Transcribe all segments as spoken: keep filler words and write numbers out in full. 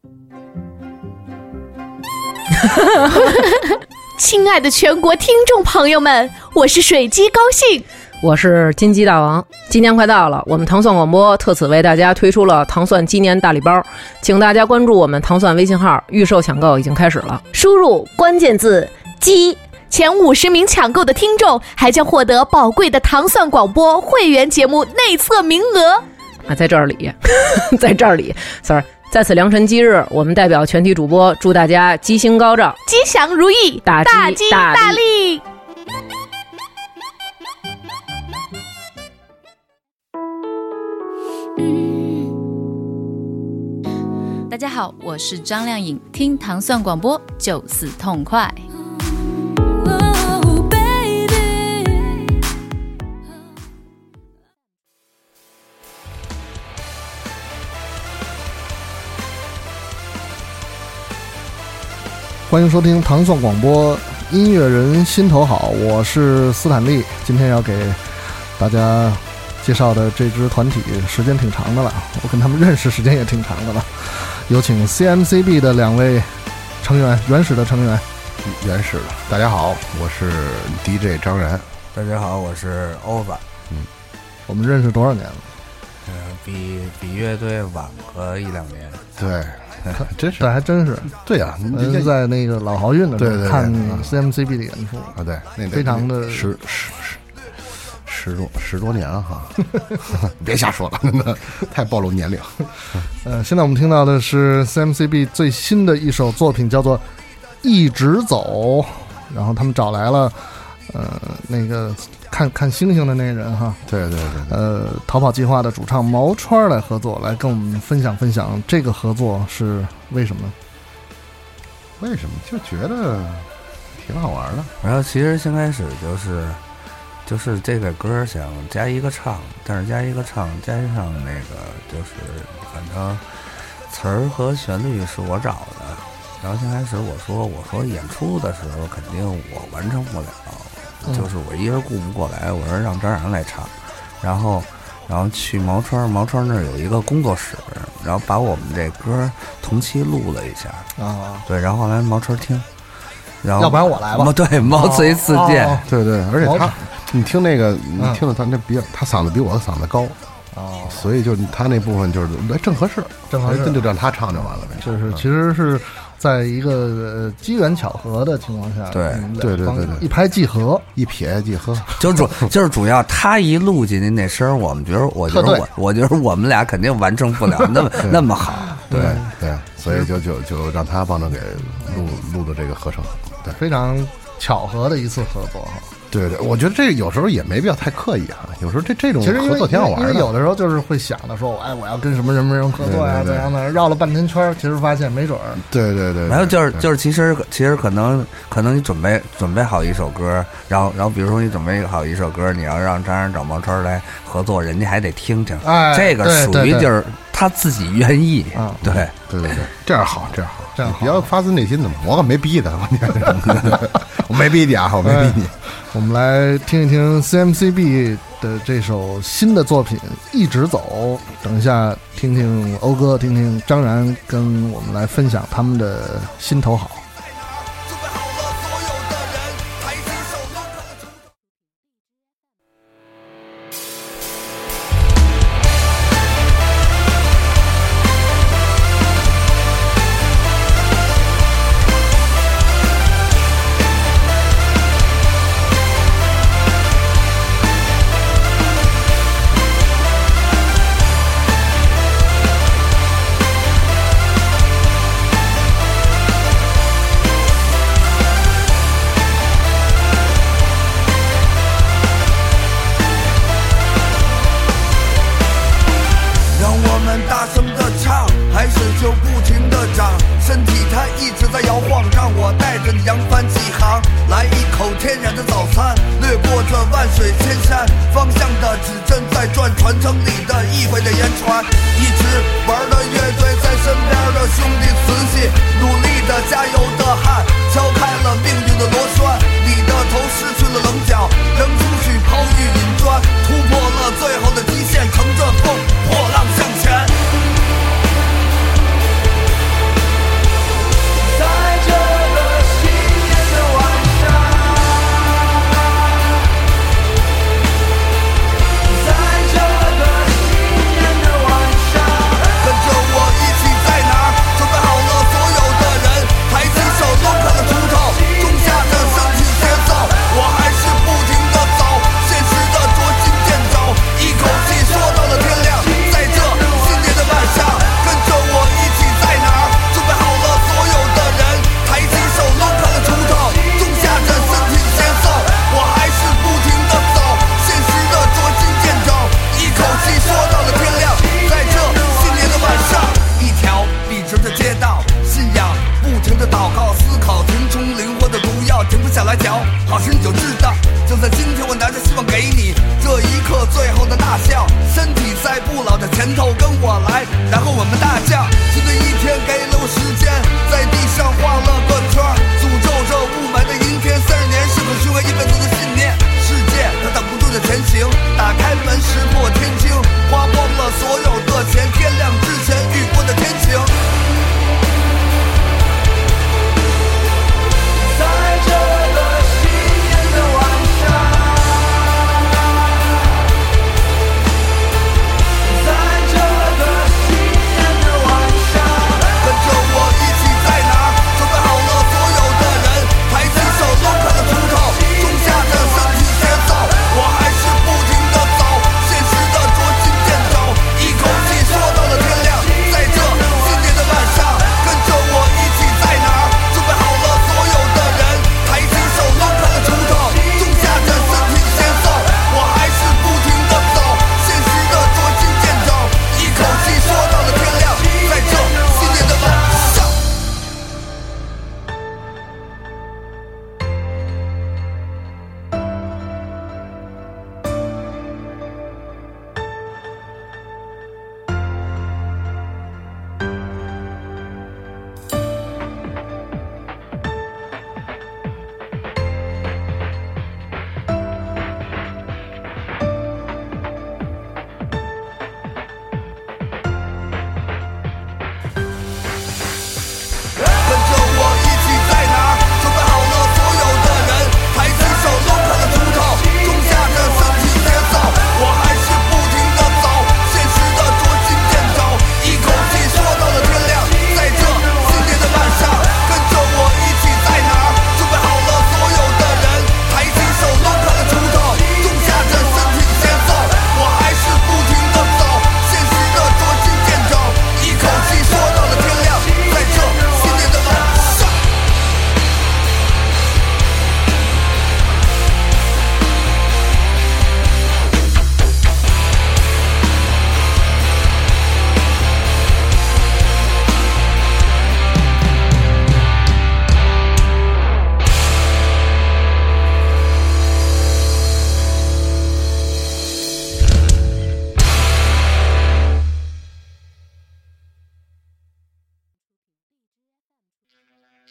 亲爱的全国听众朋友们，我是水鸡高兴， 我是金鸡大王。今年快到了，我们糖蒜广播特此为大家推出了糖蒜鸡年大礼包，请大家关注我们糖蒜微信号，预售抢购已经开始了。 输入关键字鸡，前五十名抢购的听众还将获得宝贵的糖蒜广播会员节目内测名额啊，在这里在这里 sorry，在此良辰吉日，我们代表全体主播祝大家吉星高照， 吉祥如意， 大吉大, 大利。 大家好，我是张靓颖，听糖蒜广播就此痛快。 欢迎收听糖蒜广播，音乐人心头好，我是斯坦利。今天要给大家介绍的这支团体时间挺长的了，我跟他们认识时间也挺长的了。有请 C M C B 的两位成员，原始的成员。 原始的，大家好，我是 D J 张然。 大家好，我是欧巴。 嗯，我们认识多少年了？ 呃，比比乐队晚个一两年。 对。真是， 对，还真是， 对呀、啊， 呃，在那个老豪运的时候看 C M C B 的演出啊，对，那非常的十十十十多十多年了哈，别瞎说了，真的太暴露年龄。 呃，现在我们听到的是 C M C B 最新的一首作品，叫做《一直走》，然后他们找来了呃那个看看星星的那个人哈， 对对 对, 对， 呃，逃跑计划的主唱毛川来合作，来跟我们分享分享这个合作是为什么？ 为什么？就觉得挺好玩的。 然后其实先开始就是就是这个歌想加一个唱，但是加一个唱加上那个就是反正词儿和旋律是我找的。然后先开始我说我说演出的时候肯定我完成不了。就是我一人顾不过来，我说让张然来唱，然后，然后去毛川，毛川那儿有一个工作室，然后把我们这歌同期录了一下啊， 对，然后后来毛川听，然后要不然我来吧， 对，毛遂自荐， 哦哦、 对对，而且他，你听那个，你听了他那比较，他嗓子比我的嗓子高。哦，所以就他那部分就是来正合适， 正合适， 真就让他唱就完了呗。 就是其实是在一个呃机缘巧合的情况下， 对对对对对， 一拍即合， 一撇即合， 就主就是主要他一录进去那声，我们觉得，我觉得我我觉得我们俩肯定完成不了那么那么好， 对对，所以就就就让他帮着给录录的这个合成，对， 非常巧合的一次合作哈。 对对，我觉得这有时候也没必要太刻意哈。有时候这这种合作挺好玩的， 因为有的时候就是会想的说，哎，我要跟什么什么人合作呀，怎样的，绕了半天圈，其实发现没准儿。 对对对， 然后就是就是，其实其实可能可能你准备准备好一首歌，然后然后比如说你准备好一首歌，你要让张然找毛川来合作，人家还得听听， 哎， 这个属于就是他自己愿意啊， 对对对对，这样好，这样好， 这样好， 比较发自内心的嘛，我可没逼他，我没逼你啊，我没逼你。 我们来听一听 C M C B 的这首新的作品《一直走》，等一下听听欧哥，听听张然跟我们来分享他们的心头好。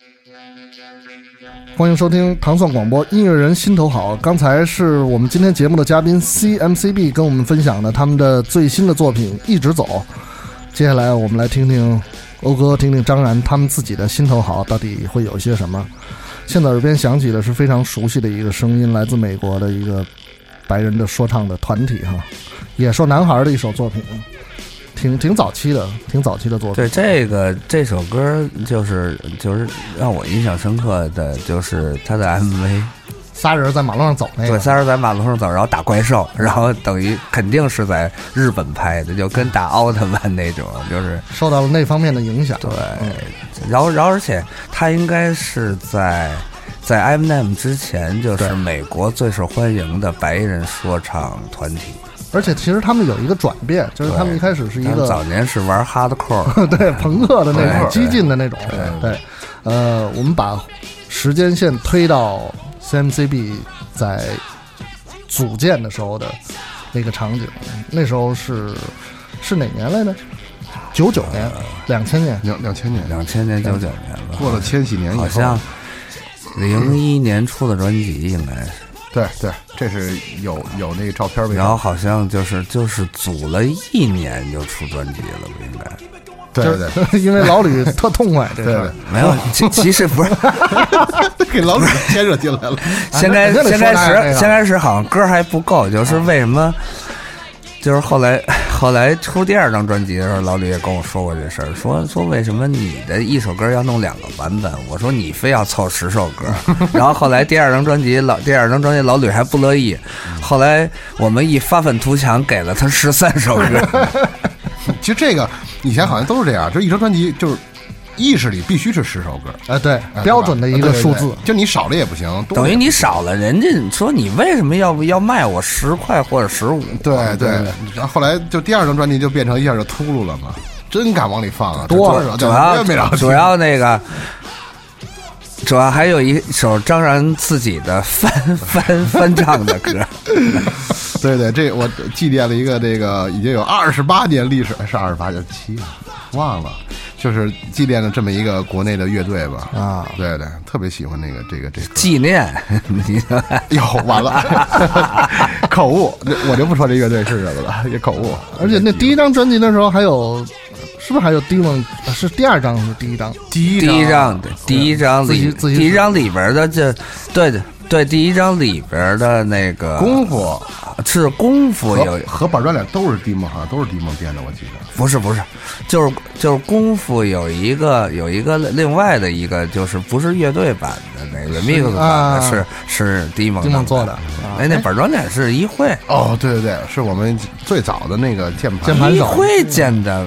欢迎收听糖蒜广播，音乐人心头好。刚才是我们今天节目的嘉宾 C M C B 跟我们分享的他们的最新的作品《一直走》。接下来我们来听听欧哥，听听张然他们自己的心头好到底会有些什么。现在耳边响起的是非常熟悉的一个声音，来自美国的一个白人的说唱的团体哈，野兽男孩的一首作品，挺挺早期的，挺早期的作品。 对，这个这首歌就是就是让我印象深刻的就是他的 M V， 仨人在马路上走那个， 对，仨人在马路上走，然后打怪兽，然后等于肯定是在日本拍的，就跟打奥特曼那种，就是受到了那方面的影响。 对，嗯、然后然后而且他应该是在。在 Eminem 之前，就是美国最受欢迎的白人说唱团体。 而且其实他们有一个转变，就是他们一开始是一个早年是玩 hardcore， 对朋克的那种激进的那种。对，对呃，我们把时间线推到 C M C B 在组建的时候的那个场景，那时候是是哪年来着？九九年，两千年， 两两千年， 两千年九九年了， 过了千禧年以后， 好像。零一年出的专辑应该是， 对对，这是有有那个照片， 然后好像就是就是组了一年就出专辑了，不应该？ 对对， 因为老吕特痛快，这对没有，其其实不是给老吕牵扯进来了。 先开先开始先开始好像歌还不够，就是为什么？就是后来后来出第二张专辑的时候，老吕也跟我说过这事儿，说说为什么你的一首歌要弄两个版本？我说你非要凑十首歌，然后后来第二张专辑老第二张专辑老吕还不乐意，后来我们一发愤图强，给了他十三首歌。 其实这个以前好像都是这样，就一张专辑就是。意识里必须是十首歌， 哎，对，标准的一个数字， 对对对，就你少了也不行， 等于你少了，人家说你为什么要要卖我十块或者十五？ 对对，然后后来就第二张专辑就变成一下就秃噜了嘛，真敢往里放啊， 多了，主要主要那个。主要还有一首张然自己的翻翻翻唱的歌， 对对，这我祭奠了一个这个已经有二十八年历史，是二十八年七，忘了，就是祭奠了这么一个国内的乐队吧。啊，对对，特别喜欢那个这个这个纪念，你哟完了，口误，我就不说这乐队是什么了，也口误。 而且那第一张专辑的时候还有。是不是还有 Demon？ 是第二张是第一张？ 第一第一张的第一张里第一张里边的这，对的对，第一张里边的那个功夫是功夫有和板砖脸都是 Demon， 好像都是 Demon 编的，我记得。 不是不是，就是就是功夫有一个有一个另外的一个就是不是乐队版的那个 mix 版的是是 Demon Demon 做的， 哎，那板砖脸是一会哦，对对对，是我们最早的那个键盘键盘手一会建的。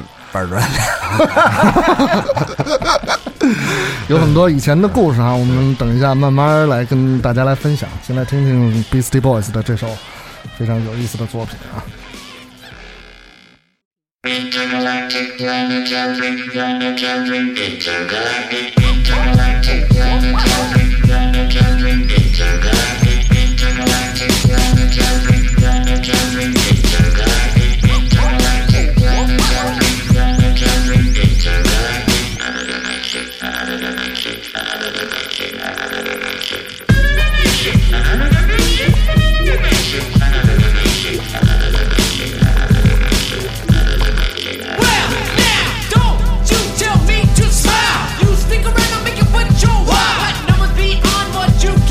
有很多以前的故事啊，我们等一下慢慢来跟大家来分享。先来听听 Beastie Boys 的这首非常有意思的作品啊。 You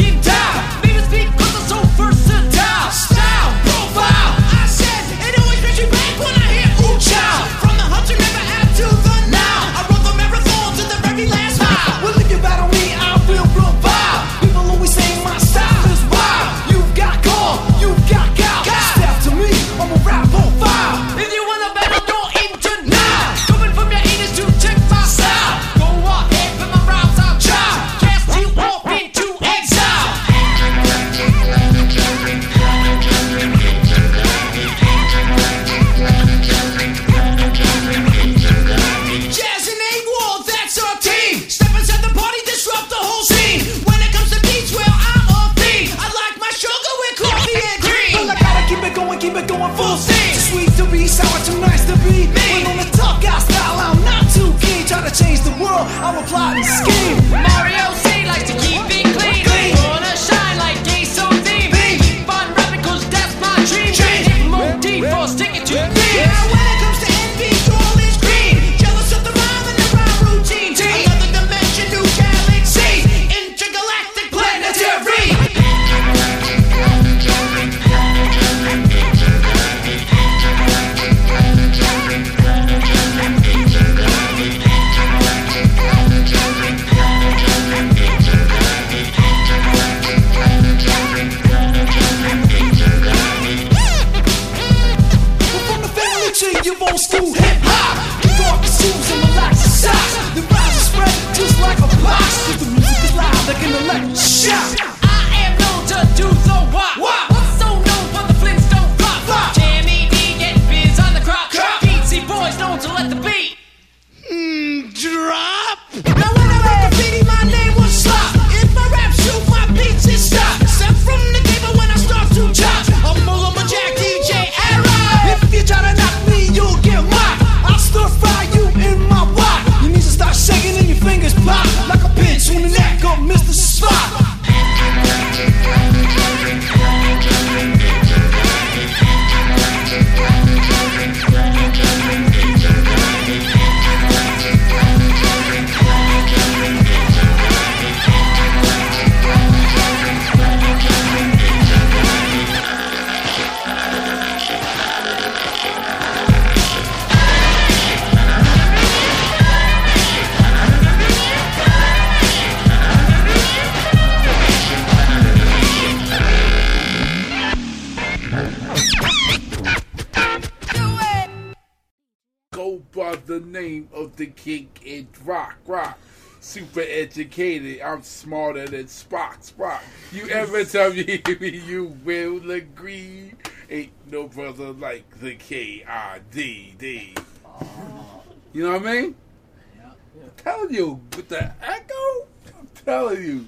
the name of the king in rock, rock. Super educated, I'm smarter than Spock, Spock. You ever tell me you will agree? Ain't no brother like the K I D D. You know what I mean? I'm telling you, with the echo, I'm telling you.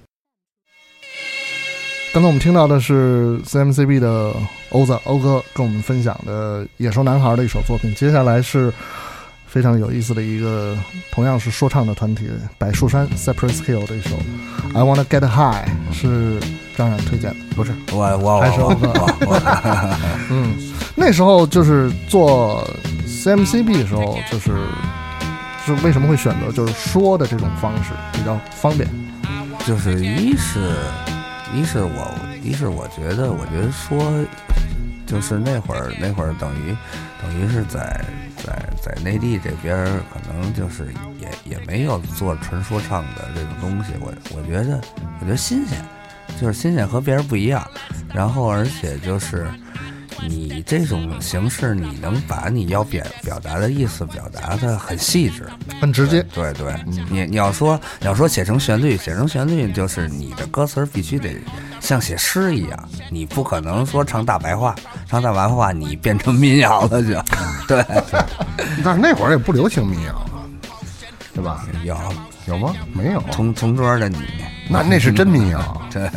刚才我们听到的是 C M C B 的欧子欧哥跟我们分享的《野兽男孩》的一首作品，接下来是非常有意思的一个同样是说唱的团体柏树山 Cypress Hill 的一首 I Wanna Get High， 是张冉推荐的。 不是我我还是欧哥嗯，那时候就是做 C M C B 的时候，就是是为什么会选择就是说的这种方式比较方便？ 就是一是一是我一是我觉得我觉得说就是那会儿那会儿等于等于是在在在内地这边可能就是也也没有做纯说唱的这种东西，我我觉得我觉得新鲜，就是新鲜和别人不一样，然后而且就是你这种形式你能把你要表表达的意思表达的很细致很直接， 对 对, 对、嗯、你你要说你要说写成旋律写成旋律就是你的歌词必须得像写诗一样，你不可能说唱大白话唱大白话你变成民谣了就对但是那会儿也不流行民谣对吧？ 有有吗？没有。 同同桌的你， 那那是真民谣。 对。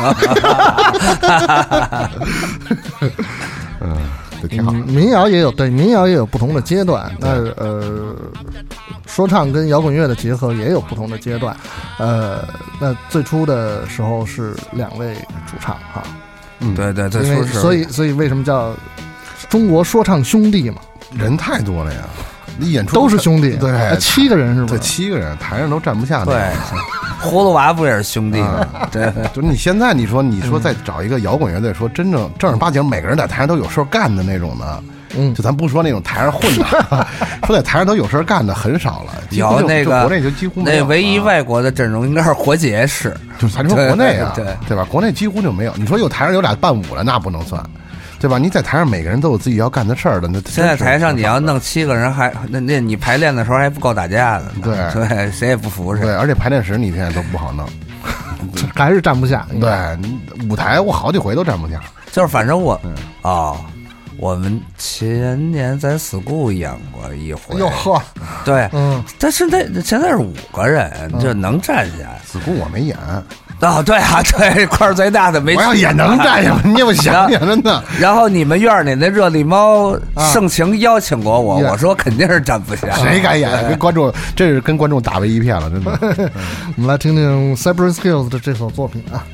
嗯，对，挺好。 民谣也有，对，民谣也有不同的阶段。那呃，说唱跟摇滚乐的结合也有不同的阶段。呃，那最初的时候是两位主唱哈。 嗯，对对，最初是。 所以所以为什么叫中国说唱兄弟嘛？ 人太多了呀。你演出都是兄弟， 对， 七个人是吧？ 对，七个人，台上都站不下。 对，葫芦娃不也是兄弟吗？对， 就是你现在你说你说再找一个摇滚乐队，说真正正儿八经每个人在台上都有事干的那种的，嗯，就咱不说那种台上混的，说在台上都有事干的很少了。 有那个国内就几乎没有。 那唯一外国的阵容应该是活结式， 就是咱说国内啊， 对对对吧？国内几乎就没有。你说有台上有俩伴舞了，那不能算。对吧？你在台上每个人都有自己要干的事儿的，那现在台上你要弄七个人还，还那那你排练的时候还不够打架的， 对对，谁也不服谁。 对，而且排练室你现在都不好弄， 还是站不下。 对，舞台我好几回都站不下。 就是反正我嗯、哦，我们前年在 school 演过一回， 哟呵， 对， 嗯， 但是那现在是五个人就能站下。 school 我没演。 哦，对啊，对，块儿最大的没。 我要也能站下，你也想想真的。 然后你们院里那热力猫盛情邀请过我，啊、我说肯定是站不下。 谁敢演？跟观众，这是跟观众打为一片了，真的。 我们来听听 Cypress Hill 的这首作品啊。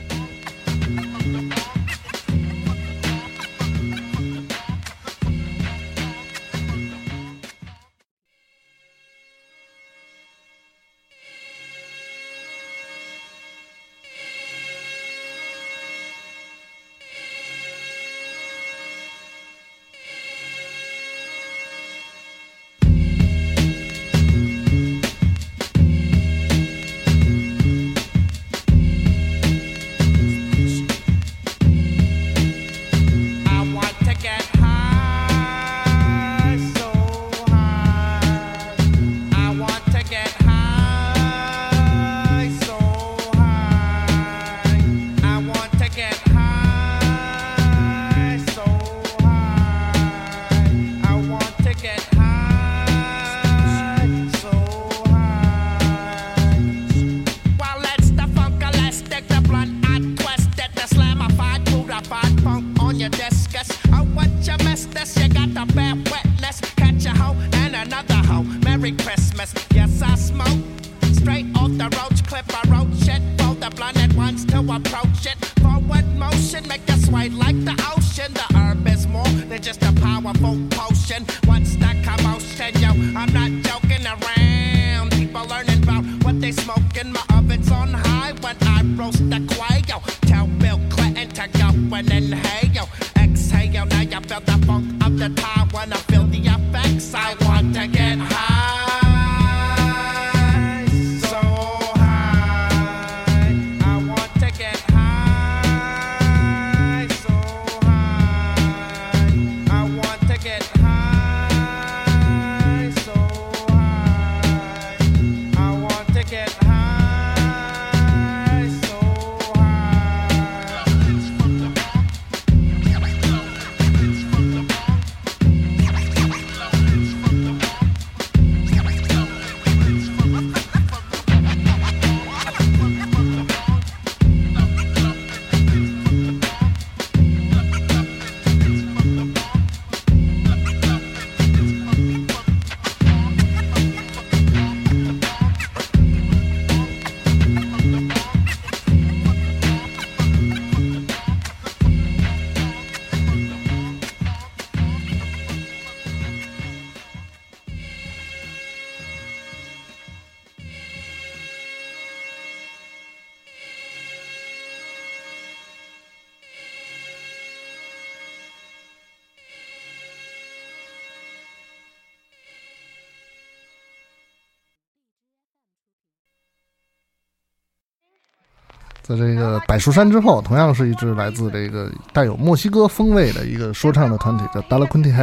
在这个柏树山之后，同样是一支来自这个带有墨西哥风味的一个说唱的团体，叫 Da La Quinty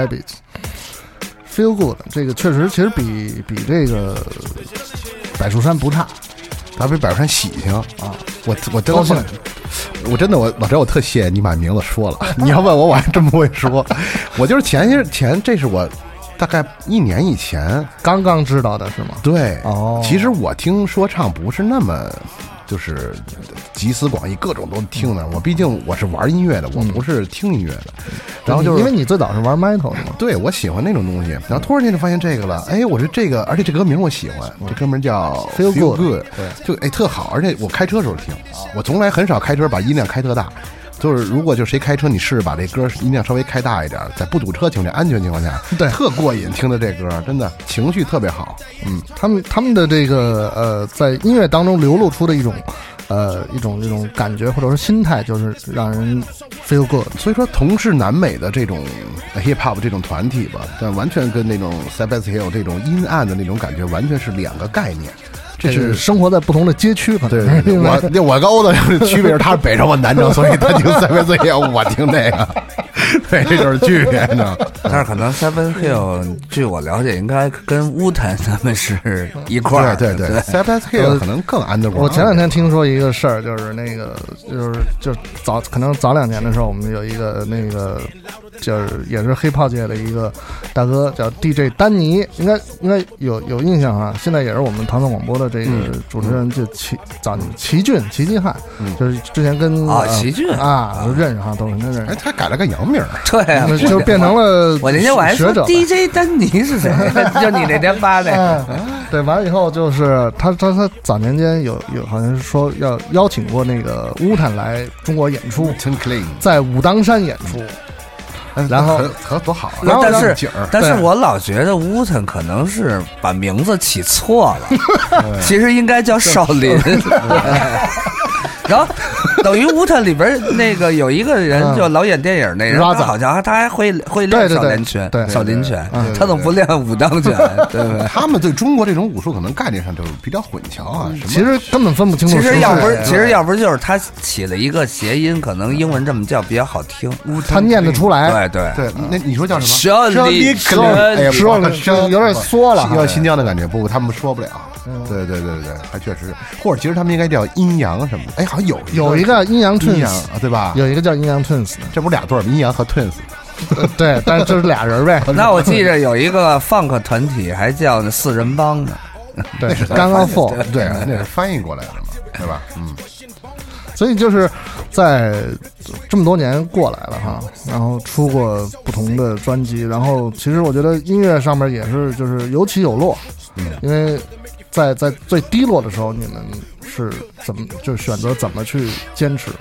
Habits。Feel Good， 这个确实其实比比这个柏树山不差， 它比柏树山喜庆啊！我我真的我真的我老张，我特谢谢你把名字说了。你要问我，我还真不会说。我就是前些前，这是我大概一年以前刚刚知道的是吗？ 对， 哦， 其实我听说唱不是那么。就是集思广益，各种都听的。我毕竟我是玩音乐的，我不是听音乐的。然后就是因为你最早是玩 metal 的嘛， 对，我喜欢那种东西。然后突然间就发现这个了，哎，我说这个，而且这歌名我喜欢，这歌名叫 Feel Good， 对，就哎特好。而且我开车的时候听，我从来很少开车把音量开特大。就是如果就谁开车，你试着把这歌音量稍微开大一点，在不堵车情况下、安全情况下， 对， 特过瘾。听的这歌真的情绪特别好。 嗯，他们他们的这个呃，在音乐当中流露出的一种呃一种这种感觉或者说心态，就是让人 feel good。 所以说，同是南美的这种 hip hop 这种团体吧，但完全跟那种 Cypress Hill 这种阴暗的那种感觉完全是两个概念。 这是生活在不同的街区，可能对对对，我我跟欧子区别是他是北城，我南城，所以他听 Cypress Hill， 我听这个，对，这就是区别呢。 但是可能 Cypress Hill， 据我了解，应该跟乌坦他们是一块儿。 对对对 ，Cypress Hill 可能更 underground。 我前两天听说一个事儿，就是那个就是就早可能早两年的时候，我们有一个那个就是也是黑炮界的一个大哥叫 D J 丹尼，应该应该有有印象啊。现在也是我们唐宋广播的这个主持人，就齐早齐俊齐继汉，就是之前跟啊齐俊啊都认识哈，都是认识。 哎，他改了个洋名， 对啊， 就变成了我那天我还说 D J 丹尼是谁？就你那天发的。 对，完了以后就是他他他早年间有有好像是说要邀请过那个乌坦来中国演出，在武当山演出。然后和多好， 然后但是但是我老觉得乌腾可能是把名字起错了，其实应该叫少林。然后等于乌腾里边那个有一个人就老演电影那人，好像他还会会练少林拳，少林拳，他怎么不练武当拳？对不对？ 他们对中国这种武术可能概念上就比较混淆啊， 其实根本分不清楚。 其实要不是，其实要不是就是他起了一个谐音，可能英文这么叫比较好听， 他念得出来。 对对对，那你说叫什么？ 少林拳， 哎呀， 说了有点缩了， 要新疆的感觉，不，他们说不了。对对对对对，还确实，或者其实他们应该叫阴阳什么的。哎，好像有有一个阴阳 twins， 对吧？ 有一个叫阴阳 twins， 这不是俩对儿，阴阳和 twins。 对，但是这是俩人呗。 那我记着有一个 funk 团体还叫四人帮呢。 对，刚刚 four， 对，那是翻译过来的嘛，对吧？嗯。 所以就是在这么多年过来了哈，然后出过不同的专辑，然后其实我觉得音乐上面也是就是有起有落，嗯，因为在在最低落的时候，你们是怎么就选择怎么去坚持？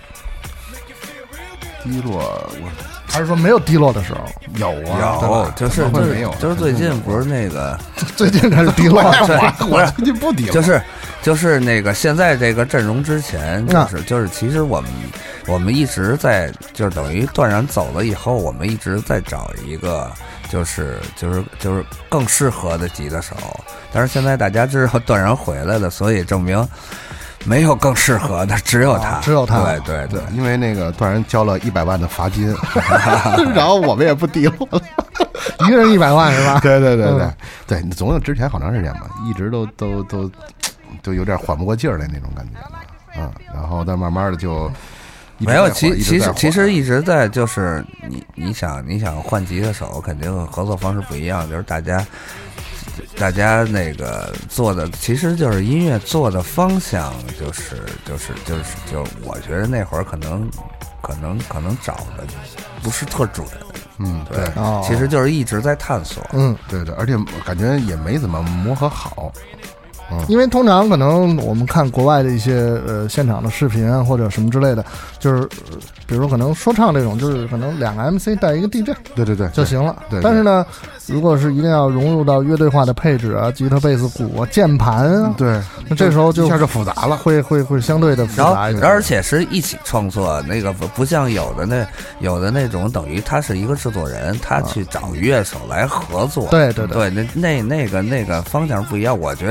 低落，我还是说没有低落的时候？ 有啊， 有，就是没有，就是最近不是那个最近开始低落， 我最近不低落， 就是就是那个现在这个阵容之前，就是就是其实我们我们一直在就是等于段然走了以后，我们一直在找一个就是就是就是更适合的吉他手，但是现在大家知道段然回来了，所以证明。没有更适合的，只有他， 只有他。 对对对， 因为那个段然交了一百万的罚金，然后我们也不低落了， 一个人一百万是吧？ 对对对对、嗯、对，你总有之前好长时间吧，一直都都都就有点缓不过劲儿来那种感觉了，嗯，然后但慢慢的就没有，其其实其实一直在就是你你想你想换吉他手，肯定合作方式不一样，就是大家。大家那个做的其实就是音乐做的方向，就是就是就是就我觉得那会儿可能可能可能找的不是特准， 嗯， 对， 哦、 其实就是一直在探索， 嗯， 对对，而且感觉也没怎么磨合好。 嗯，因为通常可能我们看国外的一些呃现场的视频啊或者什么之类的，就是、呃、比如可能说唱这种，就是可能两个 M C 带一个 D J， 对对对就行了。 对， 但是呢，如果是一定要融入到乐队化的配置啊，吉他、贝斯、鼓啊、键盘啊， 对， 那这时候就一下就复杂了， 会会会相对的复杂一点。 而且是一起创作，那个不不像有的那有的那种，等于他是一个制作人，他去找乐手来合作。 对对对，那那那个那个方向不一样。我觉得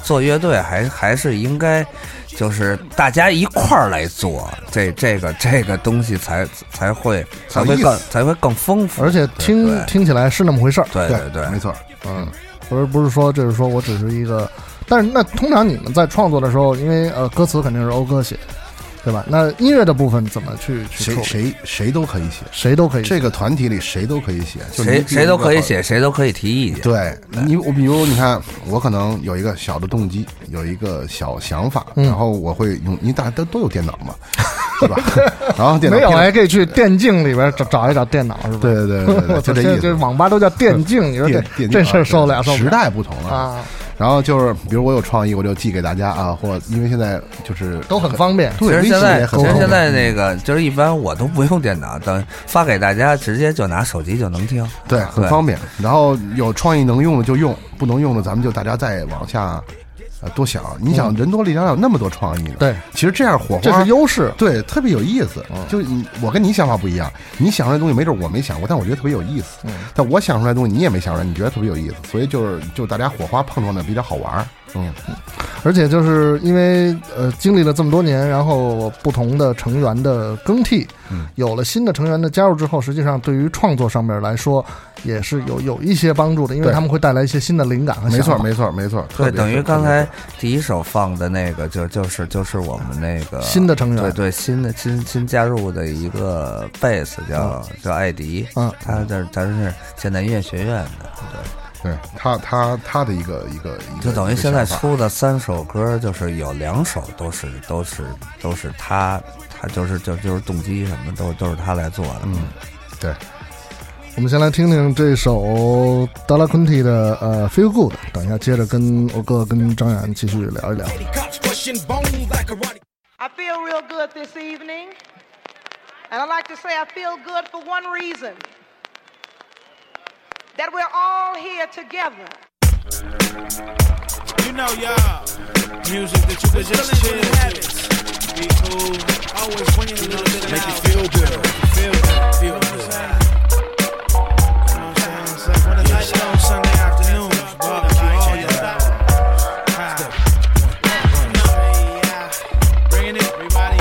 做乐队还还是应该。就是大家一块儿来做，这这个这个东西才才会才会更才会更丰富， 而且听听起来是那么回事儿。 对对对， 没错。 嗯，不是不是说就是说我只是一个，但是那通常你们在创作的时候，因为呃歌词肯定是欧哥写，对吧？那音乐的部分怎么去去谁谁谁都可以写， 谁都可以写， 这个团体里谁都可以写， 谁谁都可以写，谁都可以提意见。 对你，我比如你看，我可能有一个小的动机，有一个小想法， 嗯、 然后我会用，因为大家都都有电脑嘛，对吧？然后电脑没有还可以去电竞里边找找一找电脑，是吧？ 对对对对对，就这意思。 这网吧都叫电竞，你说这这事儿受不了， 时代不同了啊。 然后就是，比如我有创意，我就寄给大家啊，或因为现在就是都很方便。 其实现在，其实现在那个就是一般我都不用电脑，等发给大家，直接就拿手机就能听。 对，很方便。然后有创意能用的就用，不能用的咱们就大家再往下。呃，多想，你想人多力量有那么多创意呢？ 对， 其实这样火花这是优势， 对，特别有意思。嗯、就你我跟你想法不一样，你想出来的东西没准我没想过，但我觉得特别有意思。嗯，但我想出来的东西你也没想出来，你觉得特别有意思，所以就是就大家火花碰撞的比较好玩。嗯， 而且就是因为呃经历了这么多年，然后不同的成员的更替，嗯，有了新的成员的加入之后，实际上对于创作上面来说也是有有一些帮助的，因为他们会带来一些新的灵感和想法。 没错，没错，没错。 对，等于刚才第一首放的那个就就是就是我们那个新的成员， 对对，新的新新加入的一个贝斯叫、嗯、叫艾迪，嗯，他这他是现代音乐学院的，对。 对他，他他的一个一个， 就等于现在出的三首歌，就是有两首都是都是都是他，他就是就就是动机什么都都是他来做的。 嗯，对。 我们先来听听这首达拉昆蒂的呃 Feel Good， 等一下接着跟欧哥跟张远继续聊一聊。 I feel real good this evening, and I like to say I feel good for one reason. That we're all here together. You know, y'all, music that you could just chill with, be cool, always bringing a little bit of make you feel good, feel good, feel good. You know what I'm saying? So when the night on Sunday afternoons, barbecue all y'all. Bringing it, everybody.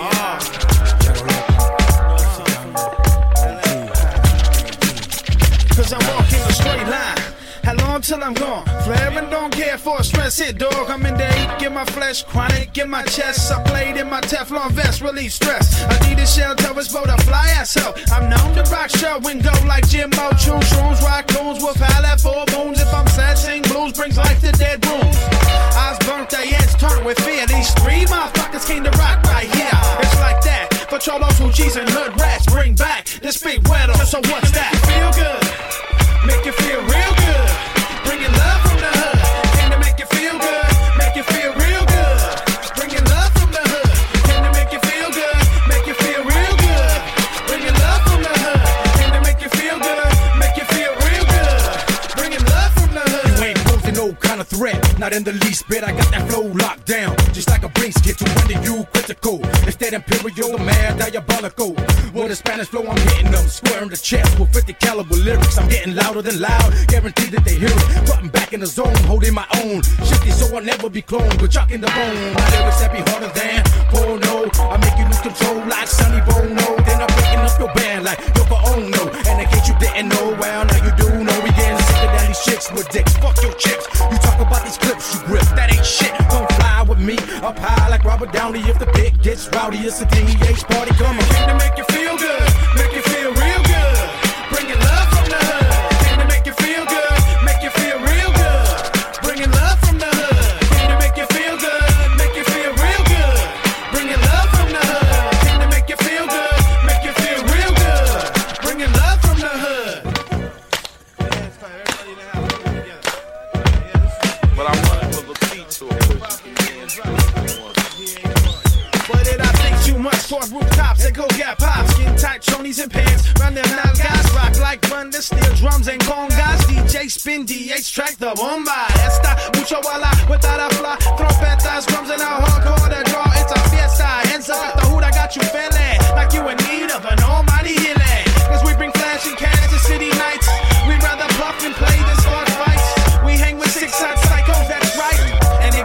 Cause I'm walking a straight line. How long till I'm gone? Flaring, don't care for a stress hit, dog. I'm in the eight, get my flesh, chronic in my chest. I played in my Teflon vest, relieve stress. I need a shelter, it's for the fly ass up. I'm known to rock show and go like Jimbo, chew shrooms, rock coons, with palette four moons. If I'm sad, sing blues, brings life to dead rooms. Eyes burnt, they heads turned with fear. These three motherfuckers came to rock right here. It's like that. For cholos, hoochies, and hood rats, bring back this big weather. So what's that? Feel good. Make you feel real good. Bringing love from the hood. Can to make you feel good. Make you feel real good. Bringing love from the hood. Can to make you feel good. Make you feel real good. Bringing love from the hood. Can to make you feel good. Make you feel real good. Bringing love from the hood. You ain't posing no kind of threat. Not in the least bit. I got that flow locked down. Just like a brain skit to render you critical. It's that imperial, the mad diabolical. With a Spanish flow, I'm hitting them square in the chest with fifty caliber lyrics. I'm getting louder than loud, guaranteed that they hear it. Putting back in the zone, holding my own. Shifty, so I'll never be cloned, but chalk in the bone. My lyrics that be harder than porno. I make you lose control like Sonny Bono. Then I'm breaking up your band like Yoko Ono. And in case you didn't know, well now you do know. We getting sicker than these chicks with dicks. Fuck your chicks. You talk about these clips you grip, that ain't shit. Don't fly with me up high like Robert Downey. If the pit gets rowdy, it's a D H party coming. Came to make you feel good, make you feel real good. Bringing love from the hood. Came to make you feel good, make you feel real good. Bringing love from the hood. Came to make you feel good, make you feel real good. Bringing love from the hood. Came to make you feel good, make you feel real good. Bringing love from the hood. But I wanted to repeat to it. But did I think too much towards rooftops and go get pops? Skin tight chonies and pants, run them nalgas. Rock like thunder, steel drums and congas. D J spin D H track the bomba. Esta mucho bala without a fly. Trompetas, drums and a hardcore to draw. It's a fiesta. Hands up at the hood, I got you feeling like you in need of an almighty healing. Cause we bring flash and Kansas City nights. We'd rather bluff and play than start fights. We hang with six hot psychos, that's right. And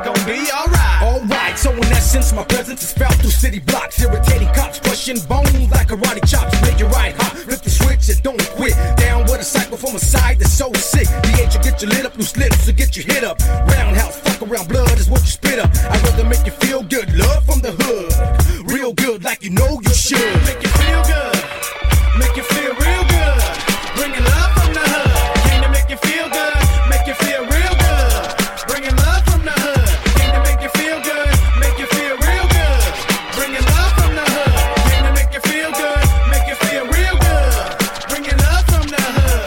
Since my presence is felt through city blocks, irritating cops crushing bones like karate chops. Make it right hot, flip the switch and don't quit. Down with a cycle from a side that's so sick. The H will get you lit up, loose lips will get you hit up. Roundhouse, fuck around, blood is what you spit up. I'd rather make you feel good, love from the hood. Real good like you know you should. Make you feel good, make you feel real good. Bringing love from the hood. Came to make you feel good, make you feel real good. Bringing love from the hood. Came to make you feel good, make you feel real good. Bringing love from the hood. Came to make you feel good, make you feel real good. Bringing love from the hood.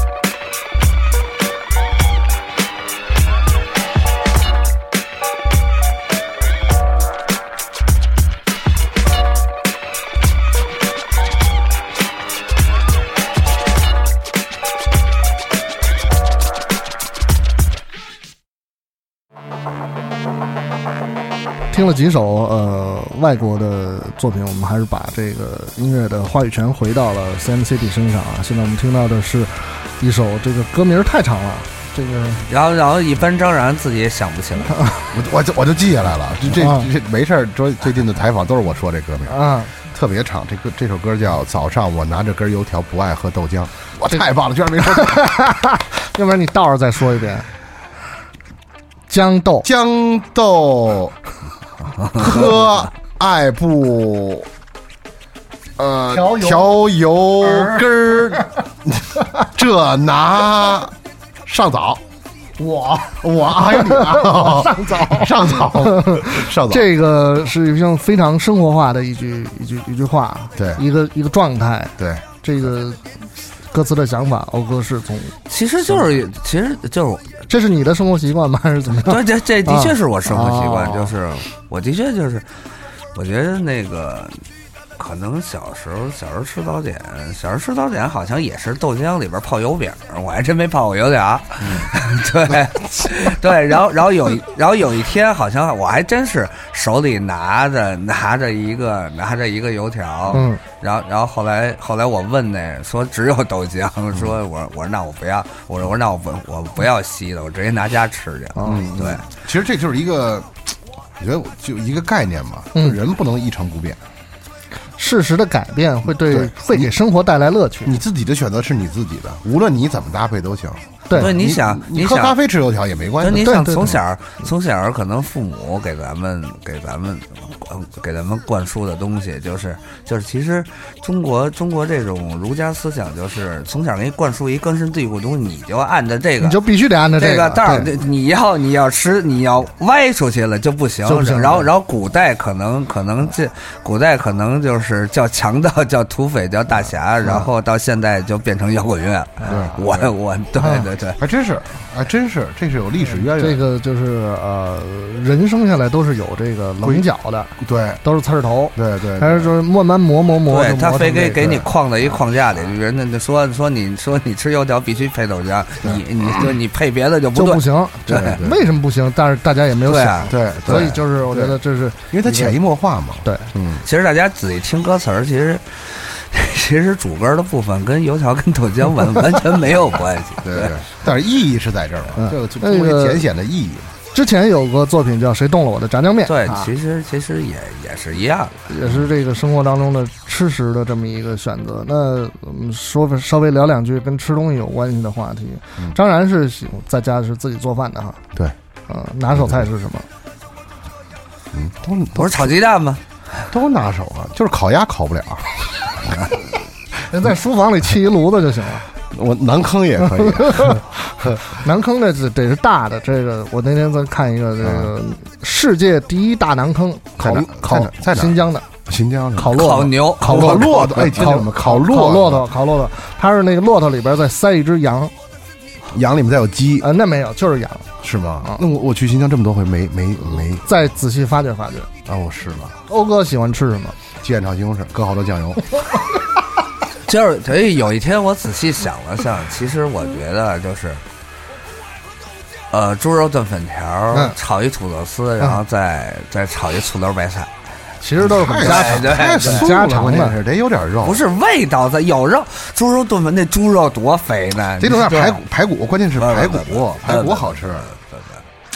听了几首呃外国的作品，我们还是把这个音乐的话语权回到了 C M C D 身上啊。现在我们听到的是一首这个歌名太长了，这个然后然后一般张然自己也想不起来， 我我就我就记下来了，这这、啊、这没事儿，最最近的采访都是我说这歌名啊， 特别长。这个这首歌叫《早上我拿着根油条不爱喝豆浆》，哇，太棒了，居然没说， 要不然你倒着再说一遍。豇豆， 豇豆，喝爱不，呃， 调油调油根儿，这拿上早。 我我还有你啊！ 上早上早上早， 这个是一种非常生活化的一句一句一句话， 对， 一个一个状态， 对， 这个歌词的想法，欧哥是从其实就是其实就是这是你的生活习惯吗？还是怎么样？ 对，这这的确是我生活习惯， 啊、 就是我的确就是，我觉得那个。可能小时候，小时候吃早点，小时候吃早点好像也是豆浆里边泡油饼，我还真没泡过油条。嗯、对，对，然后，然后有，然后有一天好像我还真是手里拿着拿着一个拿着一个油条， 嗯， 然后，然后后来后来我问那说只有豆浆，说我我说那我不要，我说我说那我不我不要稀的，我直接拿家吃去。 嗯， 对， 其实这就是一个，我觉得就一个概念嘛， 嗯、 就人不能一成不变。 事实的改变会对, 对会给生活带来乐趣。 你自己的选择是你自己的，无论你怎么搭配都行。 对， 你想你喝咖啡吃油条也没关系。 你想从小从小可能父母给咱们给咱们给咱们灌输的东西，就是就是其实中国中国这种儒家思想，就是从小给你灌输一根深蒂固的东西，你就按照这个， 你就必须得按照这个道儿，你要你要吃你要歪出去了就不行。 就不行然后然后古代可能可能这古代可能就是叫强盗叫土匪叫大侠，然后到现在就变成摇滚乐了。 对， 我我对对对， 还真是。还真是，这是有历史渊源。 这个就是呃，人生下来都是有这个棱角的， 对， 都是刺儿头， 对对， 还是就是慢慢磨磨磨， 对他非给给你框在一个框架里，人家说说你说你吃油条必须配豆浆，你你说你配别的就不就不行， 对， 为什么不行？但是大家也没有想， 对， 所以就是我觉得这是因为它潜移默化嘛， 对， 嗯， 其实大家仔细听歌词儿，其实。其实主歌的部分跟油条跟豆浆完完全没有关系， 对对，但是意义是在这儿嘛， 嗯、 这个作为浅显的意义。 之前有个作品叫《谁动了我的炸酱面》， 对， 啊、 其实其实也也是一样的，也是这个生活当中的吃食的这么一个选择。那我们说稍微聊两句跟吃东西有关系的话题。 嗯、 张然是在家是自己做饭的哈， 对， 呃，拿手菜是什么？ 嗯，都不是炒鸡蛋吗？ 都拿手啊，就是烤鸭烤不了。 人在书房里砌一炉子就行了。 我馕坑也可以， 馕坑那得得是大的。这个我那天在看一个这个世界第一大馕坑，烤烤在新疆的， 新疆的烤骆烤牛烤骆驼，哎， 烤烤骆烤骆驼烤骆驼，它是那个骆驼里边再塞一只羊， 羊里面再有鸡啊，那没有，就是羊， 是吗？那我我去新疆这么多回，没没没再仔细发掘发掘。 啊，我是吗？ 欧哥喜欢吃什么？ 鸡眼炒西红柿，搁好多酱油。 就是所以有一天我仔细想了想，其实我觉得就是，呃，猪肉炖粉条， 嗯、 炒一土豆丝，然后再、嗯、再炒一醋溜白菜， 其实都是很家常， 太很家常的， 得有点肉。 不是味道在有肉，猪肉炖粉那猪肉多肥呢， 得有点排骨，排骨关键是排骨，排骨好吃。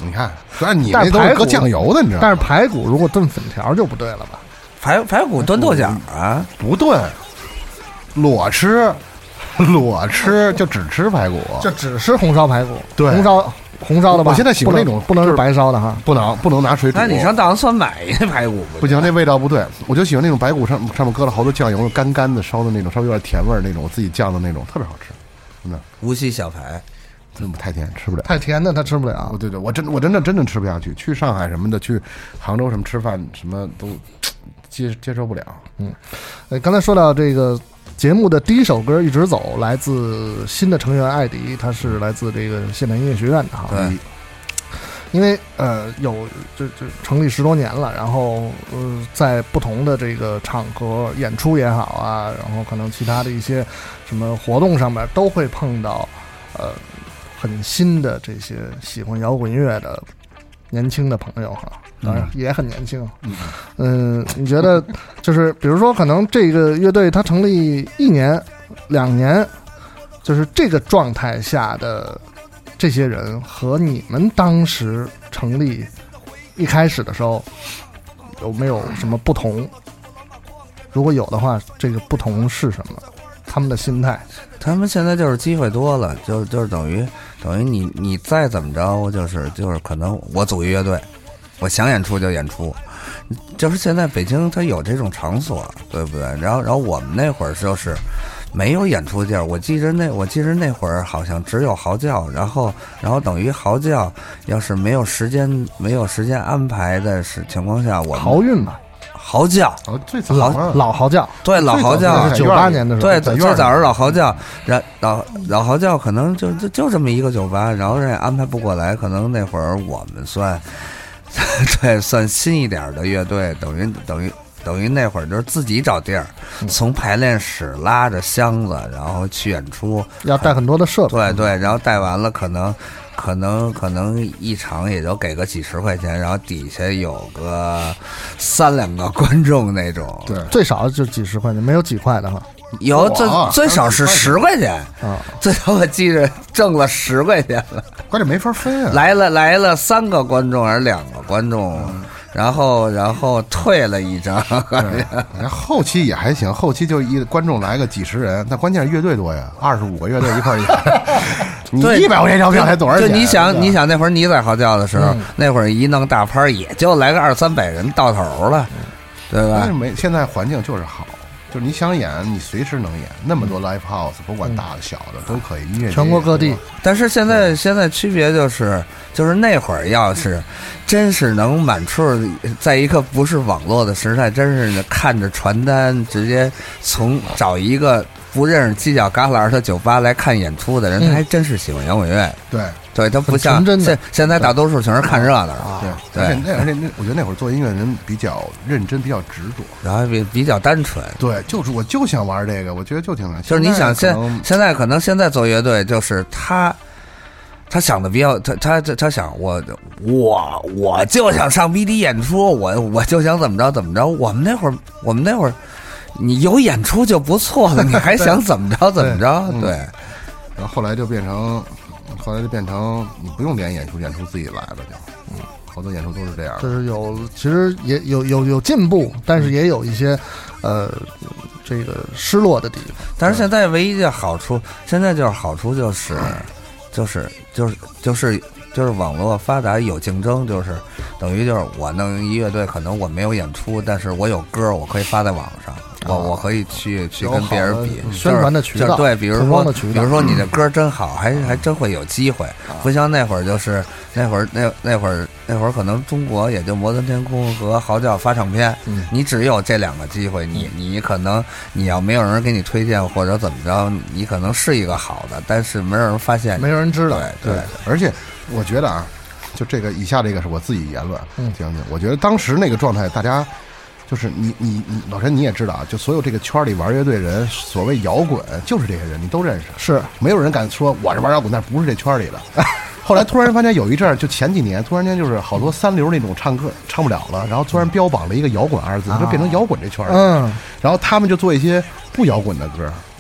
你看，虽然你那都是搁酱油的，你知道吗？ 但是排骨如果炖粉条就不对了吧？ 排排骨炖豆角啊？ 不炖，裸吃，裸吃就只吃排骨， 就只吃红烧排骨。 对， 红烧红烧的吧？ 我现在喜欢那种， 不能是白烧的哈， 不能不能拿水煮。 那你上大王村买一个排骨不行，那味道不对。我就喜欢那种排骨上上面搁了好多酱油，干干的烧的那种，稍微有点甜味儿那种，我自己酱的那种，特别好吃，真的。 无锡小排。 真不太甜，吃不了。 太甜的他吃不了。 对对，我真我真的真的吃不下去。去上海什么的，去杭州什么吃饭什么都接接受不了。 嗯，呃，刚才说到这个节目的第一首歌《一直走》，来自新的成员艾迪，他是来自这个现代音乐学院的哈。 对。 因为呃有这这成立十多年了，然后呃在不同的这个场合演出也好啊，然后可能其他的一些什么活动上面都会碰到呃。很新的这些喜欢摇滚乐的年轻的朋友哈，当然也很年轻。嗯，嗯，你觉得就是比如说，可能这个乐队它成立一年、两年，就是这个状态下的这些人和你们当时成立一开始的时候有没有什么不同？如果有的话，这个不同是什么？他们的心态？ 他们现在就是机会多了，就就是等于等于你你再怎么着，就是就是可能我组一乐队，我想演出就演出，就是现在北京它有这种场所，对不对？然后然后我们那会儿就是没有演出地儿，我记着那我记着那会儿好像只有嚎叫，然后然后等于嚎叫要是没有时间没有时间安排的是情况下，我豪运嘛。 嚎叫， 哦，最早老老嚎叫， 对老嚎叫， 九八年的时候， 对，最早是老嚎叫，然老老嚎叫可能就就就这么一个酒吧，然后人家安排不过来，可能那会儿我们算，对，算新一点的乐队，等于等于等于那会儿就是自己找地儿，从排练室拉着箱子，然后去演出， 要带很多的设备， 对对，然后带完了可能。可能可能一场也就给个几十块钱，然后底下有个三两个观众那种， 对， 最少就几十块钱，没有几块的哈。 有最最少是十块钱啊， 最少我记着挣了十块钱了， 关键没法分啊。 来了来了三个观众还是两个观众？嗯然后，然后退了一张， 然后后期也还行，后期就一观众来个几十人，但关键是乐队多呀，二十五个乐队一块儿演，你一百块钱一张票才多少钱？ 就你想，你想那会儿你在嚎叫的时候，嗯、那会儿一弄大拍也就来个二三百人到头了，对吧？ 没，现在环境就是好。就是你想演，你随时能演，那么多 live house，不管大的小的都可以，音乐全国各地。 但是现在现在区别就是，就是那会儿要是真是能满处，在一个不是网络的时代，真是看着传单直接从找一个不认识犄角旮旯的酒吧来看演出的人，他还真是喜欢摇滚乐。 对。 对，他不像现现在大多数全是看热闹啊。对，而且那而且那，我觉得那会儿做音乐的人比较认真，比较执着， 然后比比较单纯。 对，就是我就想玩这个，我觉得就挺难。 就是你想现现在可能现在做乐队，就是他他想的比较他他他想我我我就想上 B D 演出，我我就想怎么着怎么着。我们那会儿我们那会儿你有演出就不错了，你还想怎么着怎么着？对。 然后后来就变成。后来就变成你不用连演出，演出自己来了就，嗯，好多演出都是这样。 就是有，其实也有有有进步，但是也有一些，呃，这个失落的地方。 但是现在唯一的好处，现在就是好处就是，就是就是就是就是网络发达有竞争，就是等于就是我弄一乐队，可能我没有演出，但是我有歌，我可以发在网上。我我可以去去跟别人比宣传的渠道， 对，比如说比如说你的歌真好，还还真会有机会。不像那会儿，就是那会儿那那会儿那会儿可能中国也就摩登天空和嚎叫发唱片，你只有这两个机会，你你可能你要没有人给你推荐或者怎么着，你可能是一个好的，但是没有人发现， 没有人知道。 对对，而且我觉得啊，就这个以下这个是我自己言论，听听，我觉得当时那个状态，大家。就是你你你老陈你也知道啊，就所有这个圈里玩乐队人，所谓摇滚就是这些人，你都认识， 是没有人敢说我是玩摇滚，但不是这圈里的。后来突然发现有一阵儿，就前几年突然间就是好多三流那种唱歌唱不了了，然后突然标榜了一个摇滚二字，就变成摇滚这圈里。 嗯， 然后他们就做一些不摇滚的歌，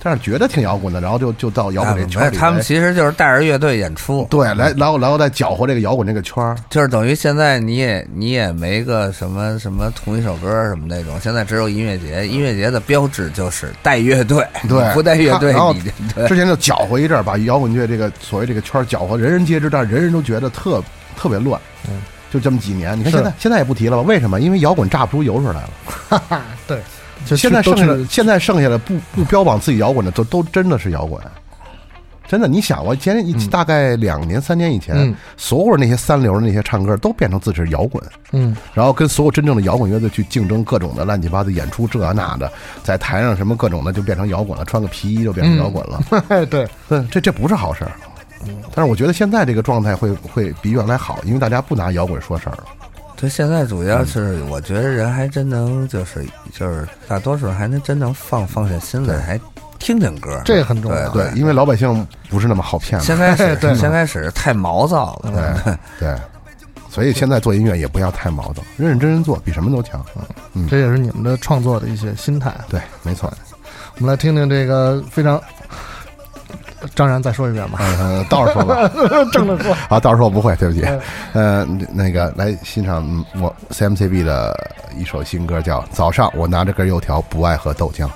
但是觉得挺摇滚的，然后就就到摇滚这圈里。 他们其实就是带着乐队演出， 对，来然后然后再搅和这个摇滚这个圈， 就是等于现在你也你也没个什么什么同一首歌什么那种，现在只有音乐节，音乐节的标志就是带乐队， 对， 不带乐队然后你之前就搅和一阵，把摇滚乐这个所谓这个圈搅和人人皆知，但是人人都觉得特特别乱，嗯，就这么几年，你看现在现在也不提了吧？为什么？因为摇滚榨不出油水来了， 哈哈，对。 就现在剩下的，现在剩下的不不标榜自己摇滚的，都都真的是摇滚，真的。你想，我前大概两年、三年以前，嗯、所有那些三流的那些唱歌都变成自己是摇滚， 嗯， 然后跟所有真正的摇滚乐队去竞争各种的乱七八糟演出，这那的，在台上什么各种的就变成摇滚了，穿个皮衣就变成摇滚了， 嗯、对对，这这不是好事儿。但是我觉得现在这个状态会会比原来好，因为大家不拿摇滚说事儿了。 对，现在主要是我觉得人还真能就是就是大多数还能真能放放下心来，还听听歌， 这很重要。 对，因为老百姓不是那么好骗了。 先开始，先开始太毛躁了。 对对，所以现在做音乐也不要太毛躁，认认真真做，比什么都强。 嗯，这也是你们的创作的一些心态。 对，没错。 我们来听听这个非常。张然再说一遍吧， 呃，倒着说吧， 正着说啊，倒着说我不会，对不起，呃，那个来欣赏我 C M C B 的一首新歌，叫《早上我拿着根油条，不爱喝豆浆》。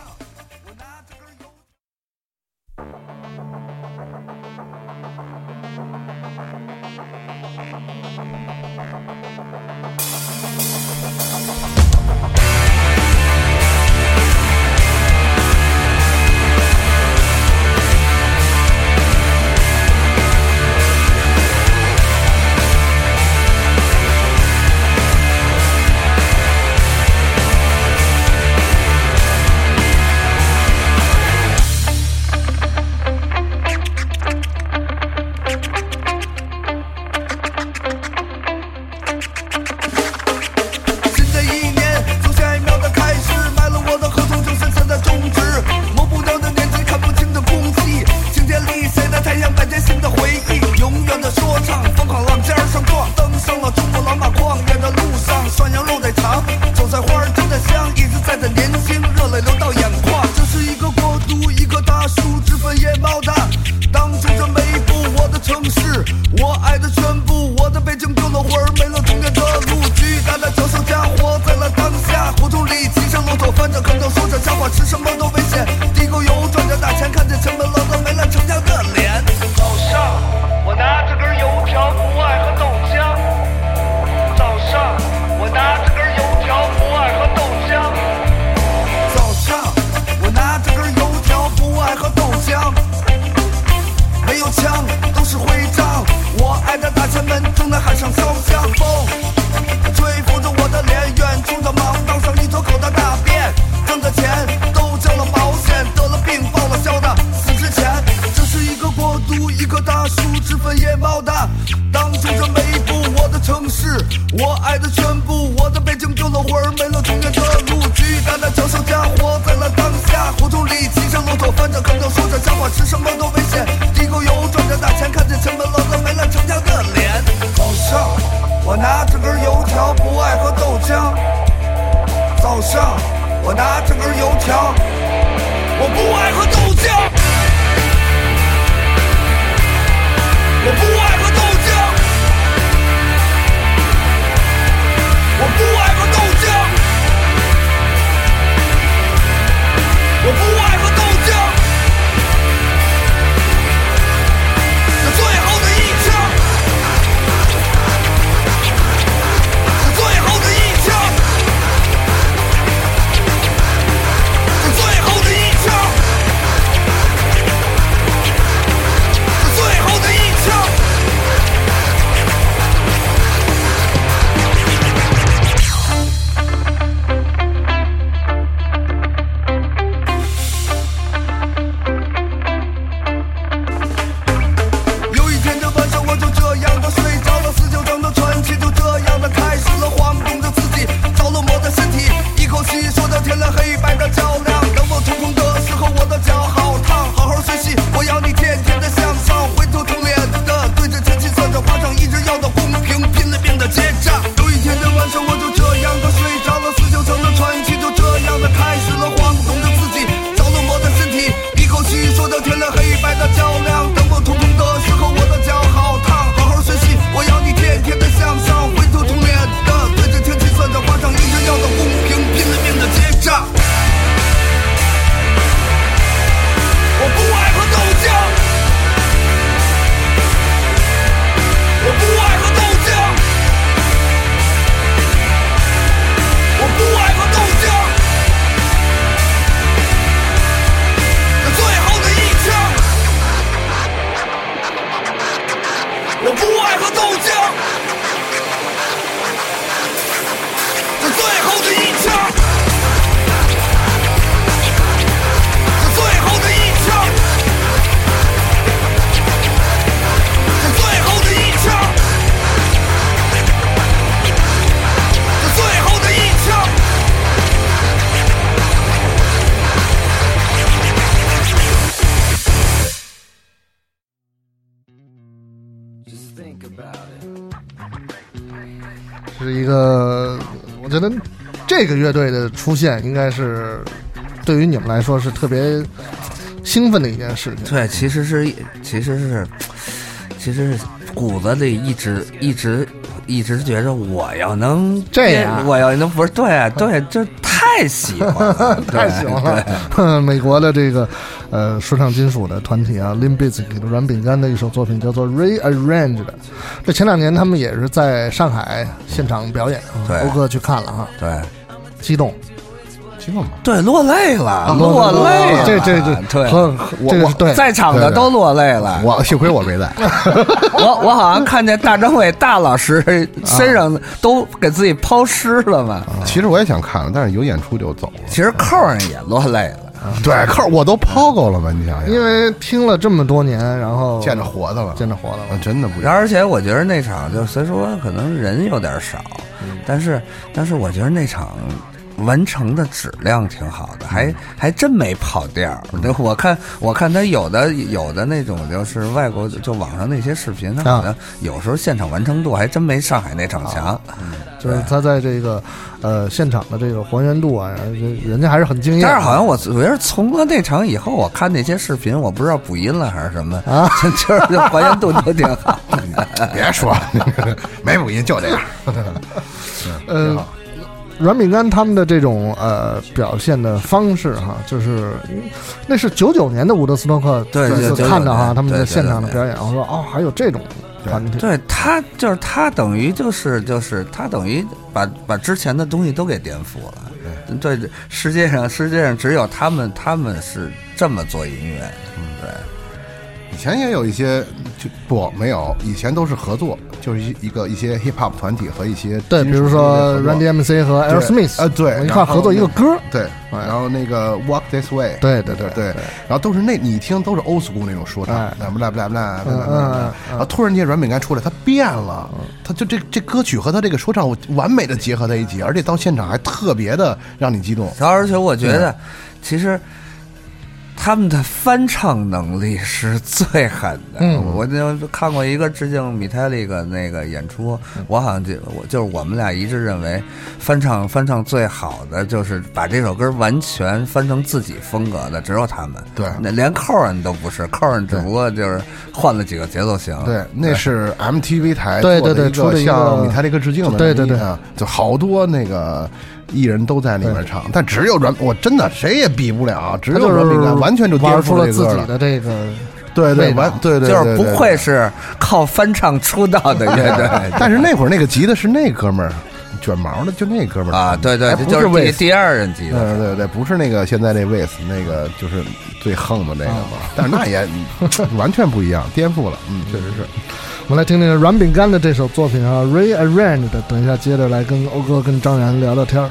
我觉得这个乐队的出现应该是对于你们来说是特别兴奋的一件事情。 对，其实是其实是其实是骨子里一直一直一直觉着我要能这样， 我要能不是对对，就太喜欢了， 太喜欢了。美国的这个呃说唱金属的团体啊 ，Limp Bizkit 软饼干的一首作品叫做 Rearranged。这前两年他们也是在上海现场表演，欧哥去看了哈， 对， 激动。 对，落泪了，啊、落泪了， 这这这， 对， 这个是对， 在场的都落泪了。 我幸亏我没在， 我我好像看见大张伟大老师身上都给自己抛尸了嘛。 啊、其实我也想看了，但是有演出就走了。 其实扣上也落泪了。 对，扣我都抛够了嘛，你想想， 因为听了这么多年，然后见着活的了， 见着活的了， 啊、真的不一样。 而且我觉得那场就虽说可能人有点少，嗯、但是但是我觉得那场。完成的质量挺好的，还还真没跑调。我看我看他有的有的那种就是外国就网上那些视频，他好像有时候现场完成度还真没上海那场强。 嗯，就是他在这个呃现场的这个还原度啊，人家还是很惊艳。 但是好像我我觉得从了那场以后，我看那些视频，我不知道补音了还是什么啊，就是还原度都挺好。 别说没补音就这样。 嗯。软饼干他们的这种呃表现的方式哈，就是那是九九年的伍德斯托克对对看到哈他们在现场的表演，我说哦还有这种团体， 对他就是他等于就是就是他等于把把之前的东西都给颠覆了，对对，世界上世界上只有他们他们是这么做音乐，嗯对。 以前也有一些就不没有，以前都是合作，就是一一个一些 hip hop 团体和一些对，比如说 Run D M C 和 Aerosmith 啊，对， 一块合作一个歌， 对，然后那个 Walk This Way， 对对对对，然后都是那你一听都是 old school 那种说唱，不啦不啦不啦不啦，然后突然间软饼干出来，他变了，他就这这歌曲和他这个说唱完美的结合在一起，而且到现场还特别的让你激动， 而且我觉得其实。他们的翻唱能力是最狠的。嗯，我就看过一个致敬米泰利克那个演出，我好像就我就是我们俩一致认为，翻唱翻唱最好的就是把这首歌完全翻成自己风格的，只有他们。 对， 那连扣人都不是，扣人只不过就是换了几个节奏型。 对，那是 M T V 台对对对做的一个向米泰利克致敬的， 对对对， 就好多那个。艺人都在里面唱，但只有软，我真的谁也比不了，只有软饼干完全就颠覆了自己的这个， 对对完对对， 就是不会是靠翻唱出道的乐队。 但是那会儿那个吉的是那哥们儿，卷毛的就那哥们儿啊，对对，就是第第二任吉的， 对对对，不是那个现在那威斯那个就是最横的那个嘛，但是那也完全不一样，颠覆了，嗯，确实是。 我们来听听软饼干的这首作品啊 ，Rearranged。等一下，接着来跟欧哥、跟张然聊聊天儿。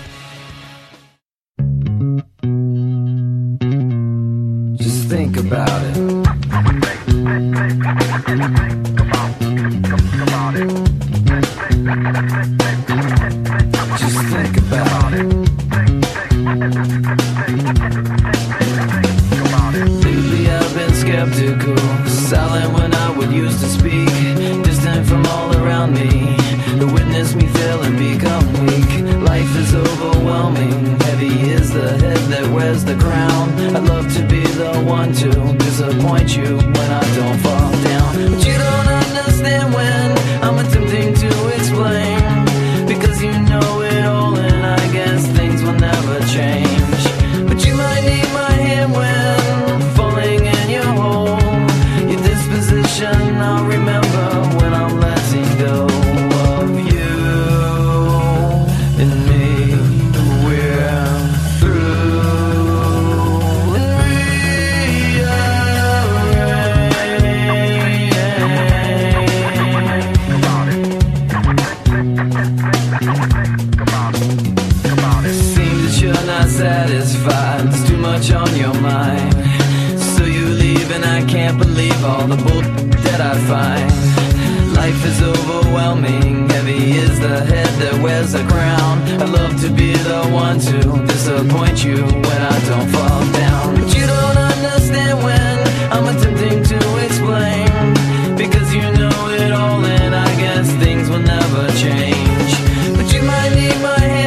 Just think about it. Just think about it. Lately I've been skeptical, silent when I would used to speak, distant from all around me, to witness me fail and become weak. Life is overwhelming, heavy is the head that wears the crown. I'd love to be the one to disappoint you when I don't fall down, but you don't understand when I'm attempting to explain, because you know it all and I guess things will never change. But you might need my hand when falling in your hole, your disposition I'll remember when I'm letting go of you and me. We're through and seems that you're not satisfied, there's too much on your mind, so you leave and I can't believe all the bull that I find. Life is overwhelming, heavy is the head that wears a crown. I'd love to be the one to disappoint you when I don't fall down, but you don't understand when I'm attempting to explain, because you know it all and I guess things will never change. But you might need my hand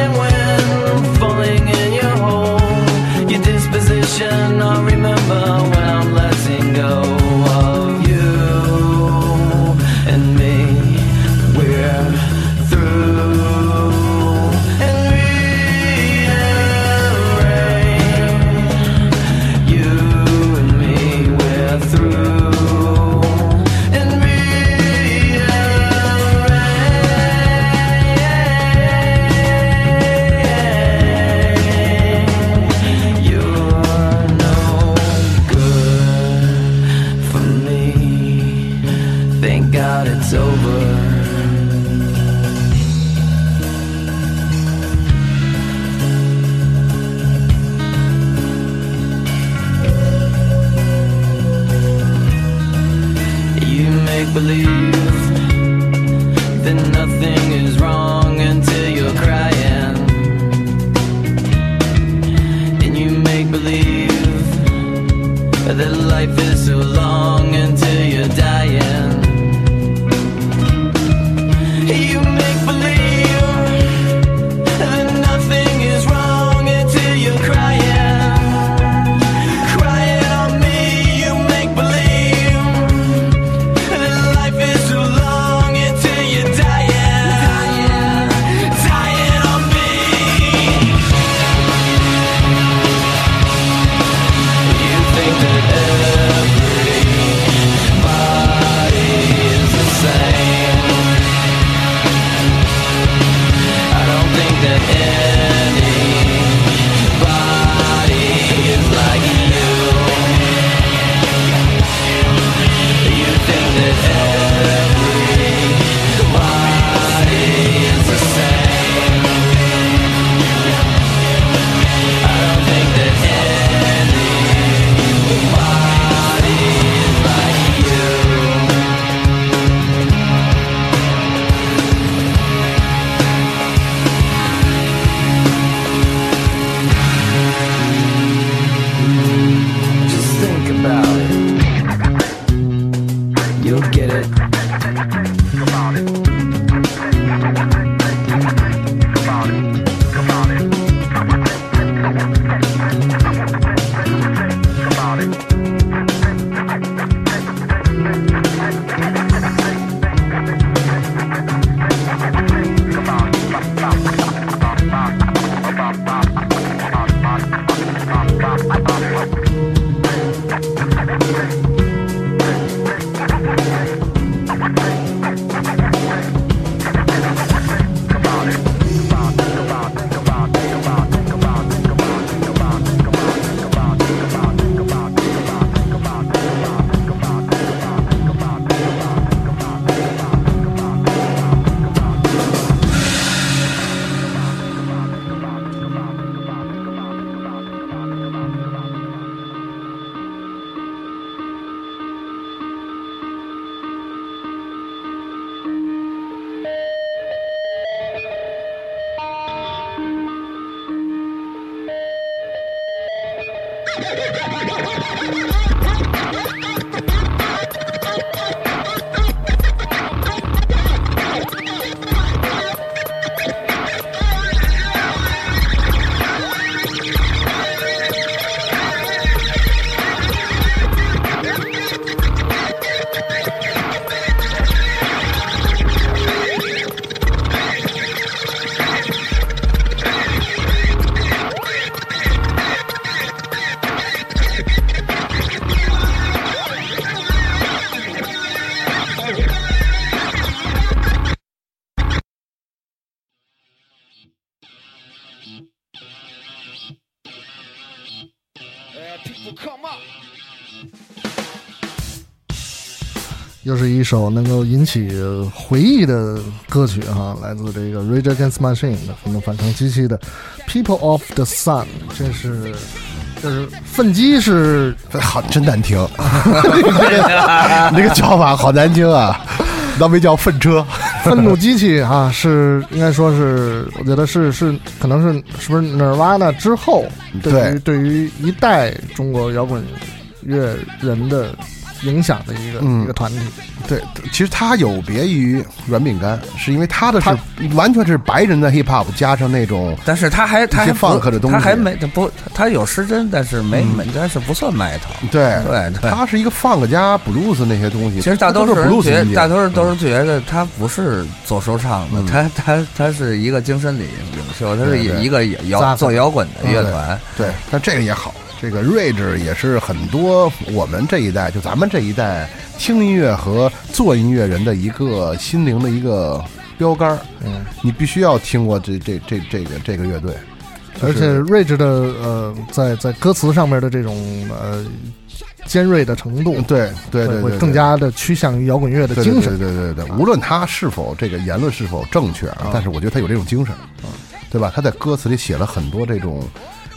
believe that nothing is wrong until you're crying, and you make believe that life is so long until you're dying. You make believe that nothing is wrong until you're crying, crying on me. You make believe that life is so long until you're dying, dying, dying on me. You think that everybody is the same. I don't think that anybody is like you. You think that everybody is the same. I don't think that anybody is like you. Just think about it. You'll get it. People come up. 又是一首能够引起回忆的歌曲哈，来自这个 Rage Against the Machine 的愤怒反抗机器的 People of the Sun， 这是这是愤激是好真难听，那个叫法好难听啊，那没叫粪车， 愤怒机器啊，是应该说是，我觉得是是可能是是不是 Nirvana 之后对于对于一代中国摇滚乐人的影响的一个、嗯、一个团体。 对，其实它有别于软饼干，是因为它的是完全是白人的 hip hop 加上那种， 但是它还它还放克的东西， 它还没不，它有失真，但是没、嗯、但是不算 metal。 对对， 它是一个放克加 blues 那些东西。 其实大多数人觉得，大多数都是觉得它不是做说唱的，它它它是一个精神领领袖，它是一个摇做摇滚的乐团。 对，但这个也好。这个 Rage 也是很多我们这一代，就咱们这一代听音乐和做音乐人的一个心灵的一个标杆。嗯，你必须要听过这这这这个这个乐队， 而且 Rage 的呃，在在歌词上面的这种呃尖锐的程度， 对对 对, 对, 对， 会更加的趋向于摇滚乐的精神。 对对对 对, 对, 对，无论他是否这个言论是否正确啊，但是我觉得他有这种精神，嗯，对吧？他在歌词里写了很多这种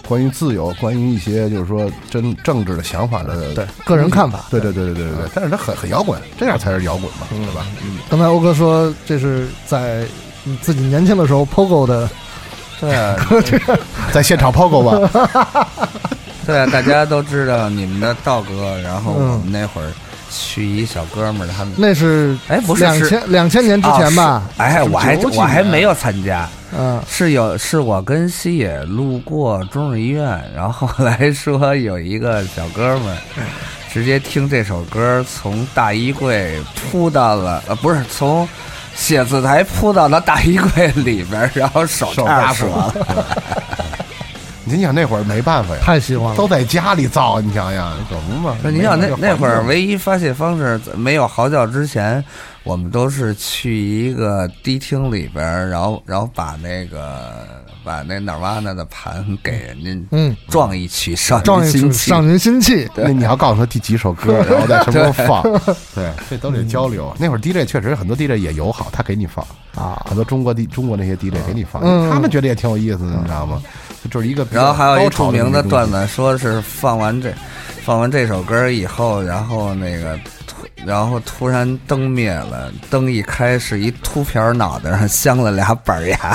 关于自由，关于一些就是说真政治的想法的对个人看法， 对对对对对对对。但是他很很摇滚，这样才是摇滚嘛，对吧？ 嗯。刚才欧哥说这是在自己年轻的时候 Pogo 的， 对啊， 在现场 Pogo 吧。 对啊，大家都知道你们的道哥，然后我们那会儿。去一小哥们儿，他们那是哎，不是两千两千年之前吧？ 哦、哎，我还我还没有参加， 嗯， 是有是我跟西野路过中日医院，然后后来说有一个小哥们儿，直接听这首歌从大衣柜扑到了，呃，不是从写字台扑到了大衣柜里边，然后手差折了。 你想那会儿没办法呀， 太喜欢了， 都在家里造，你想想怎么嘛？ 你想那那会儿唯一发泄方式没有嚎叫之前，我们都是去一个迪厅里边，然后然后把那个把那哪瓦那的盘给人家，嗯，撞一曲少年心气， 少年心气。 那你要告诉他第几首歌，然后在什么时候放，对，这都得交流。那会儿 D J 确实很多 D J 也友好，他给你放啊，很多中国 D 中国那些 D J 给你放，他们觉得也挺有意思的，你知道吗？就是一个， 然后还有一著名的段子，说是放完这放完这首歌以后，然后那个然后突然灯灭了，灯一开是一秃瓢脑袋上镶了俩板牙。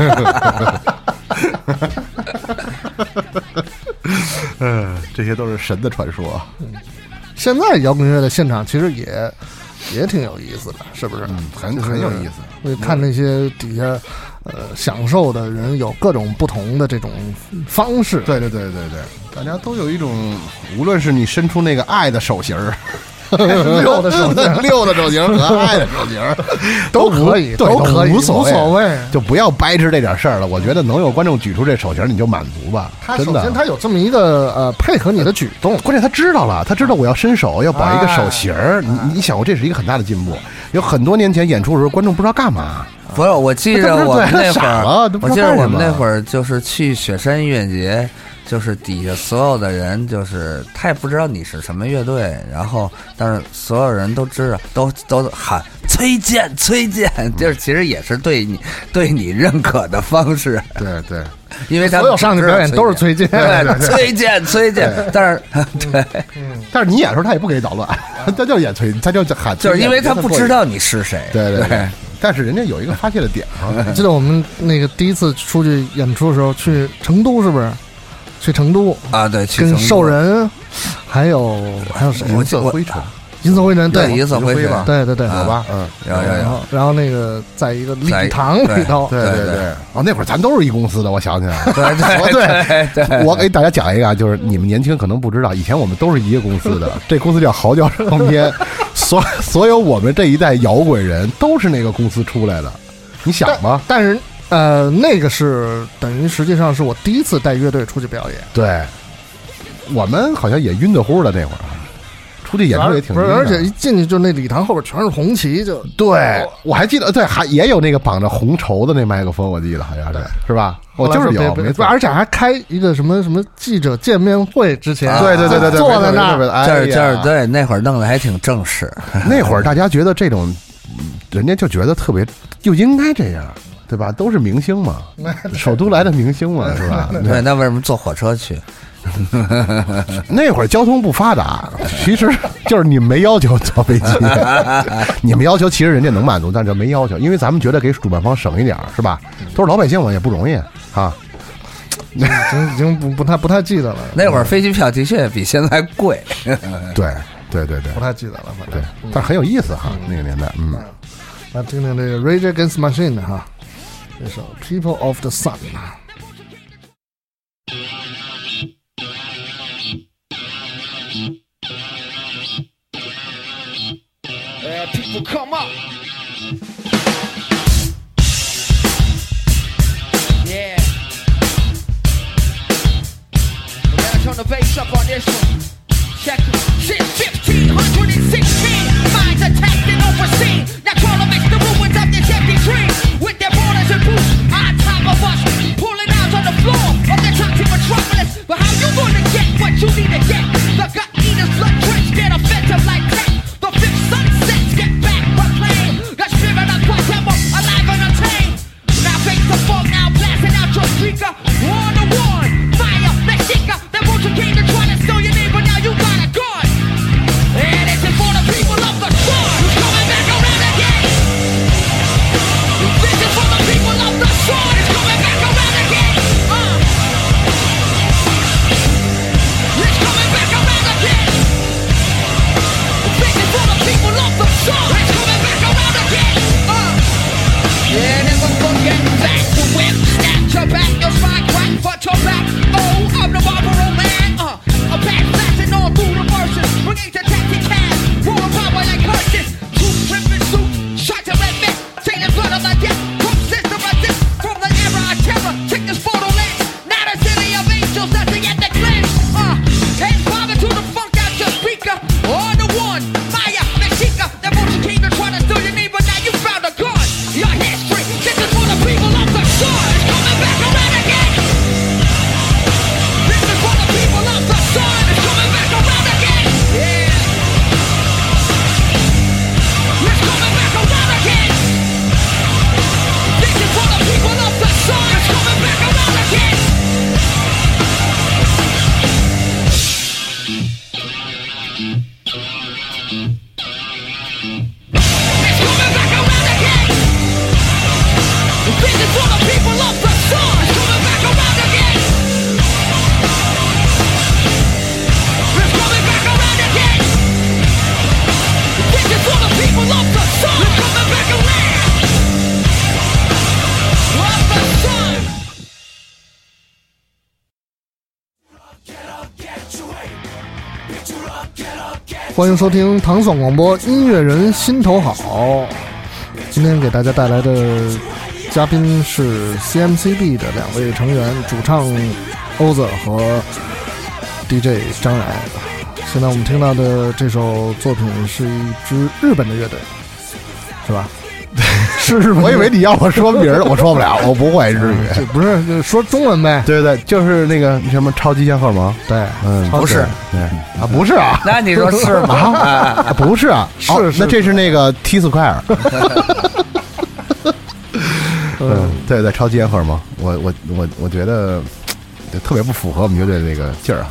嗯，这些都是神的传说。 现在摇滚乐的现场其实也也挺有意思的，是不是？ 嗯，很很有意思。 会看那些底下呃享受的人有各种不同的这种方式。 对对对对对，大家都有一种，无论是你伸出那个爱的手型儿。 六的手型， 六的手型和爱的手型都可以， 都可以， 无所谓， 无所谓， 就不要掰扯这点事儿了。我觉得能有观众举出这手型，你就满足吧。 他首先他有这么一个呃配合你的举动， 关键他知道了，他知道我要伸手，要摆一个手型儿。你你想过，这是一个很大的进步。有很多年前演出的时候，观众不知道干嘛。 不是，我记着我们那会儿， 我记得我们那会儿就是去雪山音乐节。就是底下所有的人，就是他也不知道你是什么乐队，然后但是所有人都知道，都都喊崔健，崔健，就是其实也是对你对你认可的方式。 对对， 因为他所有上去表演都是崔健， 对，崔健，崔健。但是对， 但是你演的时候他也不给你捣乱，他就演崔，他就喊， 就是因为他不知道你是谁。 对对对。但是人家有一个发泄的点啊！ 记得我们那个第一次出去演出的时候，去成都是不是？去成都啊，对， 跟兽人，还有还有谁？ 银色灰尘， 银色灰尘，对， 银色灰尘， 对对对， 有吧？嗯， 有有有。 然后那个在一个礼堂里头， 对对对。哦，那会儿咱都是一公司的，我想起来了。 对对对。 我给大家讲一个，就是你们年轻可能不知道，以前我们都是一个公司的，这公司叫嚎叫唱片，所所有我们这一代摇滚人都是那个公司出来的，你想吧？ 但是。呃，那个是等于实际上是我第一次带乐队出去表演。 对，我们好像也晕得乎的那会儿，出去演出也挺晕的。 而且一进去就那礼堂后边全是红旗，就对我还记得，对，还也有那个绑着红绸的那麦克风，我记得好像是是吧？我就是有，没错。 而且还开一个什么什么记者见面会之前， 对对对对对， 坐在那儿， 这这对那会儿弄得还挺正式。 那会儿大家觉得这种，人家就觉得特别，就应该这样。对吧？都是明星嘛，首都来的明星嘛，是吧？ 对，那为什么坐火车去？ 那会儿交通不发达，其实就是你们没要求坐飞机，你们要求其实人家能满足，但是没要求，因为咱们觉得给主办方省一点，是吧？都是老百姓嘛，也不容易啊。 已经已经不不太不太记得了。 那会儿飞机票的确比现在贵。 对对对对， 不太记得了，反正对，但是很有意思哈，那个年代，嗯。 来听听这个 Rage Against the Machine 哈。这首 People of the Sun。 Uh, people come up. Yeah. We're gonna turn the bass up on this one. Check it. Since fifteen sixteen, minds attacked and overseen. Now crawl amidst the ruins of this empty dream. With their borders and boots on top of us, pulling out on the floor of the toxic metropolis. But how you gonna get what you need to get? The gut eaters, blood drenched, get offensive like that. The fifth sunsets get back proclaimed. The spirit of Quatemo, alive and untamed. Now face the fog, now blasting out your speaker. One to one, fire. 欢迎收听糖蒜广播音乐人心头好。今天给大家带来的嘉宾是 C M C B 的两位成员，主唱欧子和 D J 张然。现在我们听到的这首作品是一支日本的乐队，是吧？是日本， 我以为你要我说名儿，我说不了，我不会日语。 这不是就说中文呗？ 对对，就是那个什么超级仙荷吗？ 对， 嗯， 不是， 对啊，不是啊。 那你说是吗？ 啊，不是啊， 是哦， 是那这是那个 T 斯块尔。嗯，对对，超级仙荷吗？我我我我觉得特别不符合我们乐队那个劲儿哈，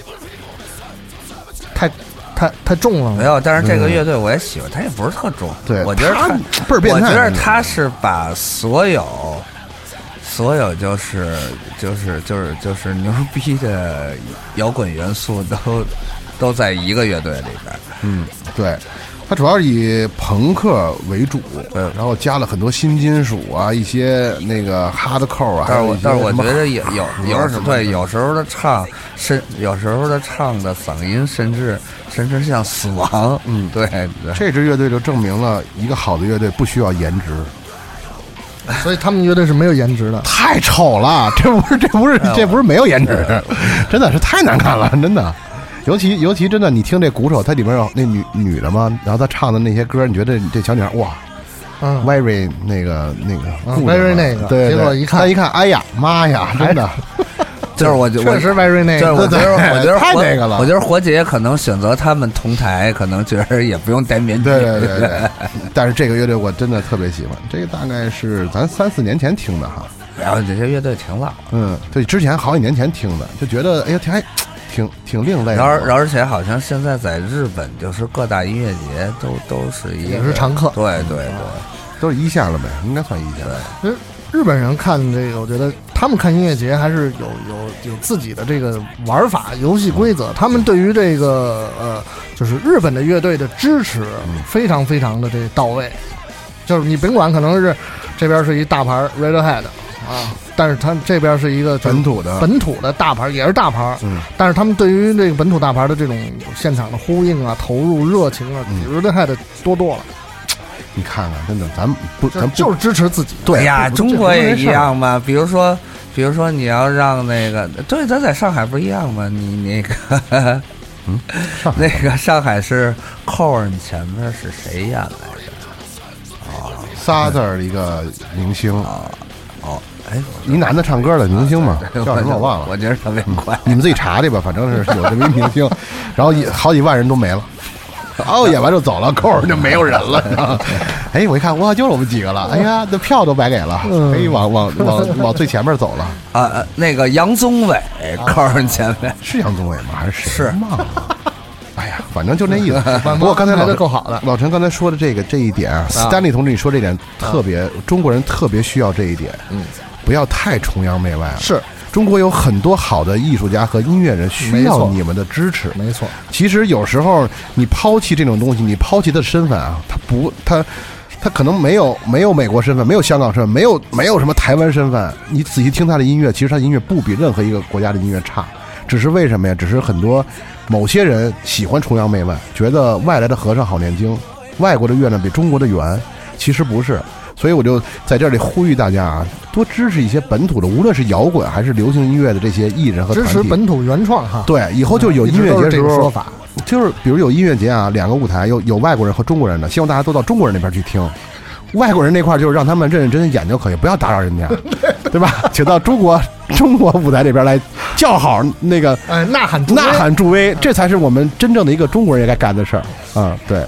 太。太太重了， 没有，但是这个乐队我也喜欢，他也不是特重。 对， 我觉得他倍儿变态。 我觉得他是把所有所有就是就是就是就是牛逼的摇滚元素都都在一个乐队里边。 嗯，对。它主要是以朋克为主，然后加了很多新金属啊，一些那个 hardcore 啊。 但是我但是我觉得有有有时对有时候的唱甚有时候的唱的嗓音甚至甚至像死亡。 嗯， 对对。 这支乐队就证明了一个好的乐队不需要颜值， 所以他们乐队是没有颜值的。 太丑了，这不是这不是这不是没有颜值，真的是太难看了，真的。尤其尤其真的，你听这鼓手，它里面有那女女的嘛，然后她唱的那些歌，你觉得这小女孩哇， 嗯 ，very 那个那个、 嗯、，very 那个， 对， 结果一看她一看，哎呀妈呀，真的， 就是我觉得确实 very 那个， 我觉得我觉得太那个了。 我觉得活姐可能选择他们同台，可能觉得也不用戴面具。 对对对对。但是这个乐队我真的特别喜欢，这个大概是咱三四年前听的哈。 然后这些乐队挺老， 嗯，对，之前好几年前听的，就觉得哎呀挺还。挺挺另类的， 而而且好像现在在日本，就是各大音乐节都都是一个也是常客， 对对对， 都是一线了呗，应该算一线。 对，日本人看这个，我觉得他们看音乐节还是有有有自己的这个玩法、游戏规则。他们对于这个呃，就是日本的乐队的支持非常非常的这到位。就是你甭管可能是这边是一大牌 Radiohead 啊。但是他这边是一个本土的本土的大牌，也是大牌。 嗯， 但是他们对于这个本土大牌的这种现场的呼应啊、投入、热情啊，比如这还得多多了。 你看看，真的，咱不，咱不就是支持自己。 对呀，中国也一样嘛。比如说，比如说你要让那个，对，咱在上海不一样吗？你那个， 嗯， 那个上海是扣儿，你前面是谁演来着？ 哦，仨字儿一个明星啊，哦。哎， 一男的唱歌的明星嘛，叫什么我忘了。 我觉得特别快， 你们自己查去吧，反正是有这么一明星，然后好几万人都没了。哦，演完就走了，扣儿就没有人了。哎，我一看，哇，就是我们几个了。哎呀，这票都白给了，可以往往往往最前面走了。 啊，那个杨宗纬扣儿前面是杨宗纬吗？还是谁？ 是忘了。哎呀，反正就那意思。不过刚才老够好的， 老陈刚才说的这个这一点啊，斯丹利同志你说这点特别，中国人特别需要这一点。 嗯。 不要太崇洋媚外了。 是中国有很多好的艺术家和音乐人需要你们的支持。 没错， 其实有时候你抛弃这种东西，你抛弃他的身份啊，他不，他他可能没有没有美国身份，没有香港身份，没有没有什么台湾身份。你仔细听他的音乐，其实他的音乐不比任何一个国家的音乐差。只是为什么呀？只是很多某些人喜欢崇洋媚外，觉得外来的和尚好念经，外国的月亮比中国的圆。其实不是。所以我就在这里呼吁大家啊，多支持一些本土的，无论是摇滚还是流行音乐的这些艺人和团体， 支持本土原创哈。 对，以后就有音乐节的时候， 说法就是比如有音乐节啊，两个舞台有有外国人和中国人的，希望大家都到中国人那边去听。外国人那块就是让他们认认真真演就可以，不要打扰人家，对吧？请到中国中国舞台这边来叫好那个， 哎，呐喊呐喊助威，这才是我们真正的一个中国人也该干的事儿啊！对。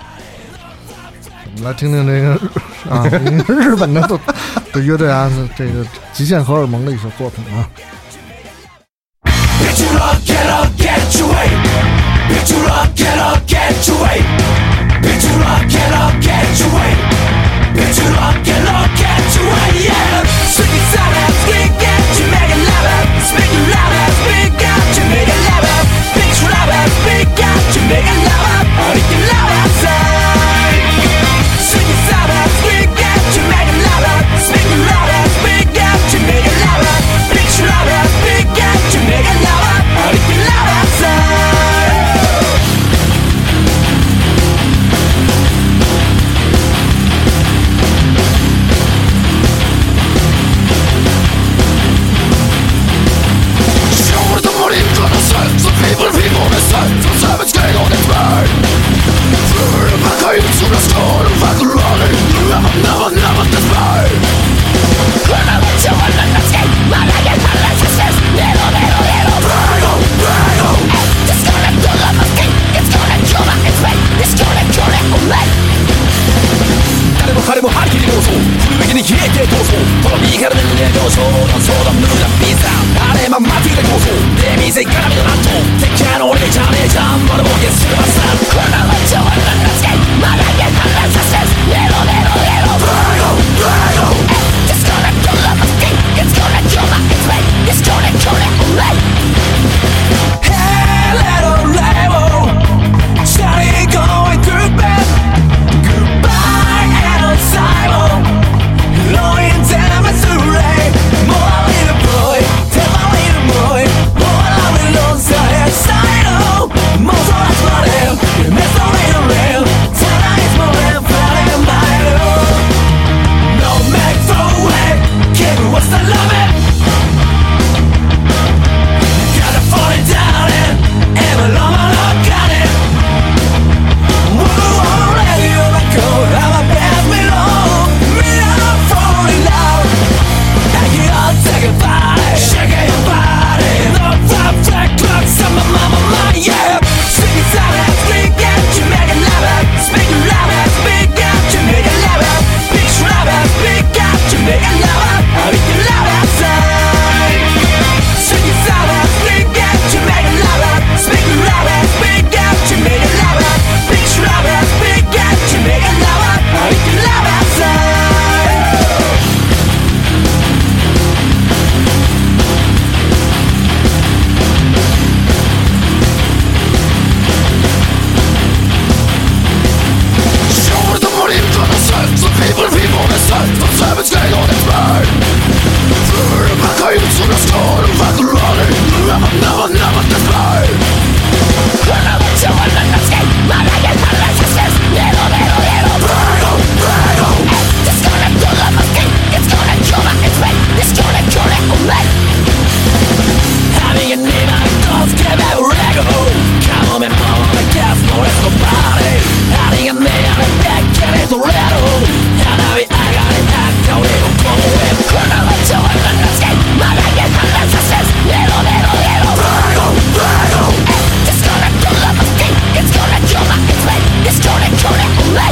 我们来听听这个啊，日本的的乐队啊，这个极限荷尔蒙的一首作品啊。 ままずいた構造で店から見るなんと敵キャの俺ちゃねえじゃんまだもうゲスするまさんこの街を俺のつけまだげたらさせレロレロレロ Brago Brago It's gonna kill my skin It's gonna kill my way It's gonna kill it away Hey little label Shawty going through bed Goodbye and Simon Blowing down my surrey More little boy Tell my little boy More of the loans I have signed up Most of us want him You miss the little rail Tonight is more than flying by No make throw away Kid what's the love it Gotta fall it down and Ever long my love got it Whoa, whoa, let you let go I'ma pass me long Me I'm falling loud I get all take a body Shaking your body The five flat clocks on my mama, my yeah Sing it out and speak out You make it loud Speak it loud and speak out You make it loud Speak loud and speak out You make it loud I make it loud outside Sing it out and speak out You make it loud Speak it loud and speak out You make it loud Speak loud and speak out You make it loud I make it loud outside Show the money to the sun The people, people, the sun The servants getting on its bird Through the back of you to the store The back of running Never, never, never display Never to one in the skin My leg is my resistance Little, little, little Brago, brago It's gonna kill my skin It's gonna kill my way It's gonna kill it away Having a name I don't give a rego Come on, me mama, I guess no rest of body Having a name I back and it's a rattle And I I got it, I don't even go away Never to one in the skin My leg is my resistance Little, little, little Brago, brago It's gonna kill my skin It's gonna kill my way It's gonna kill it away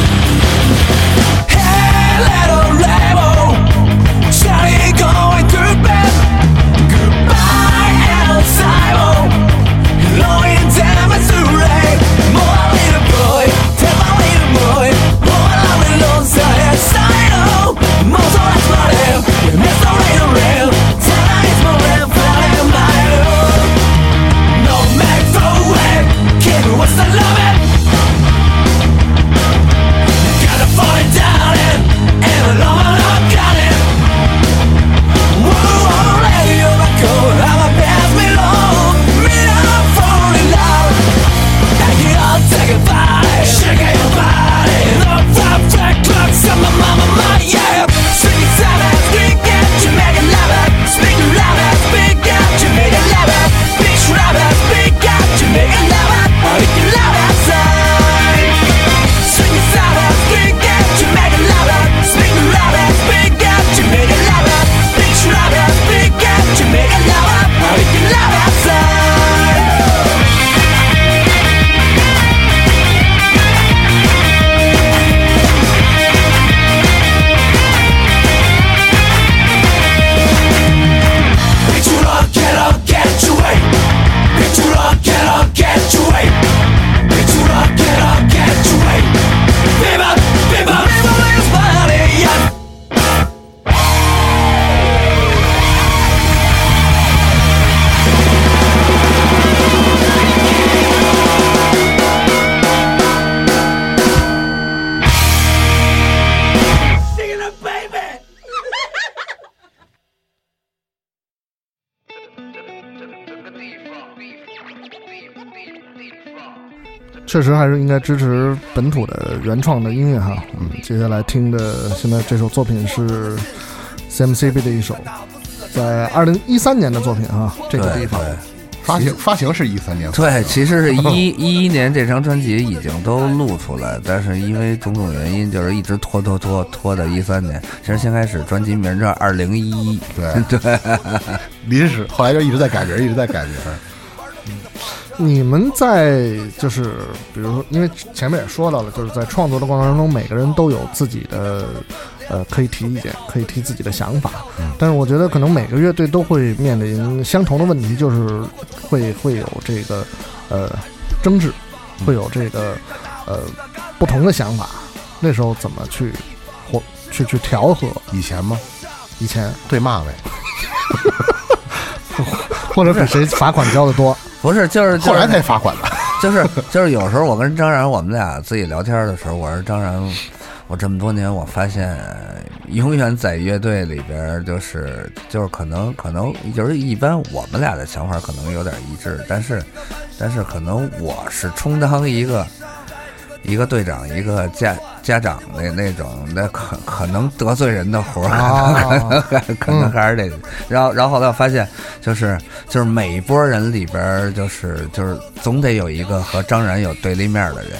Hey, little label Shawty going through bed Goodbye, El Simon Blowing down my surrey More little boy Tell my little boy More of the loans I have signed up Most of us want him You miss the little rail Tonight is more than flying by No make throw away Kid what's the love it Gotta fall it down and Ever long my love got it Whoa, whoa, let you let go I'ma pass me long Me I'm falling loud I get all take a body Shaking your body The five flat clocks on my mama, my yeah Sing it out and speak out You make it louder Speak louder, speak out You make it louder Speak louder, speak out You make it louder I make it loud outside Sing it out and speak out You make it louder Speak louder, speak out You make it louder Speak louder, speak out You make it louder I make it loud outside Bitch, you don't get up, get your way Bitch, you don't get up, get your way Bitch, you don't get up, get your way Viva, viva, viva this body, yeah Singing it, baby 确实还是应该支持本土的原创的音乐哈。嗯，接下来听的现在这首作品是 C M C B 的一首，在二零一三年的作品啊，这个地方发行发行是一三年， 对，其实是一一一年这张专辑已经都录出来，但是因为种种原因，就是一直拖拖拖拖到一三年。其实先开始专辑名叫二零一一， 对对，临时，后来就一直在改名，一直在改名。 你们在就是比如说，因为前面也说到了，就是在创作的过程当中，每个人都有自己的呃可以提意见，可以提自己的想法。但是我觉得可能每个乐队都会面临相同的问题，就是会会有这个呃争执，会有这个呃不同的想法。那时候怎么去或去去调和？ 以前吗？ 以前对骂呗。 或者比谁罚款交的多？ 不是，就是、就是、 后来才罚款的。 就是就是有时候我跟张然我们俩自己聊天的时候，我说张然，我这么多年我发现，永远在乐队里边，就是就是可能可能就是一般我们俩的想法可能有点一致，但是但是可能我是充当一个。一个队长，一个家家长那那种，那可可能得罪人的活儿，啊、可能还可能还是得。嗯、然后然后后来我发现，就是就是每一波人里边，就是就是总得有一个和张然有对立面的人，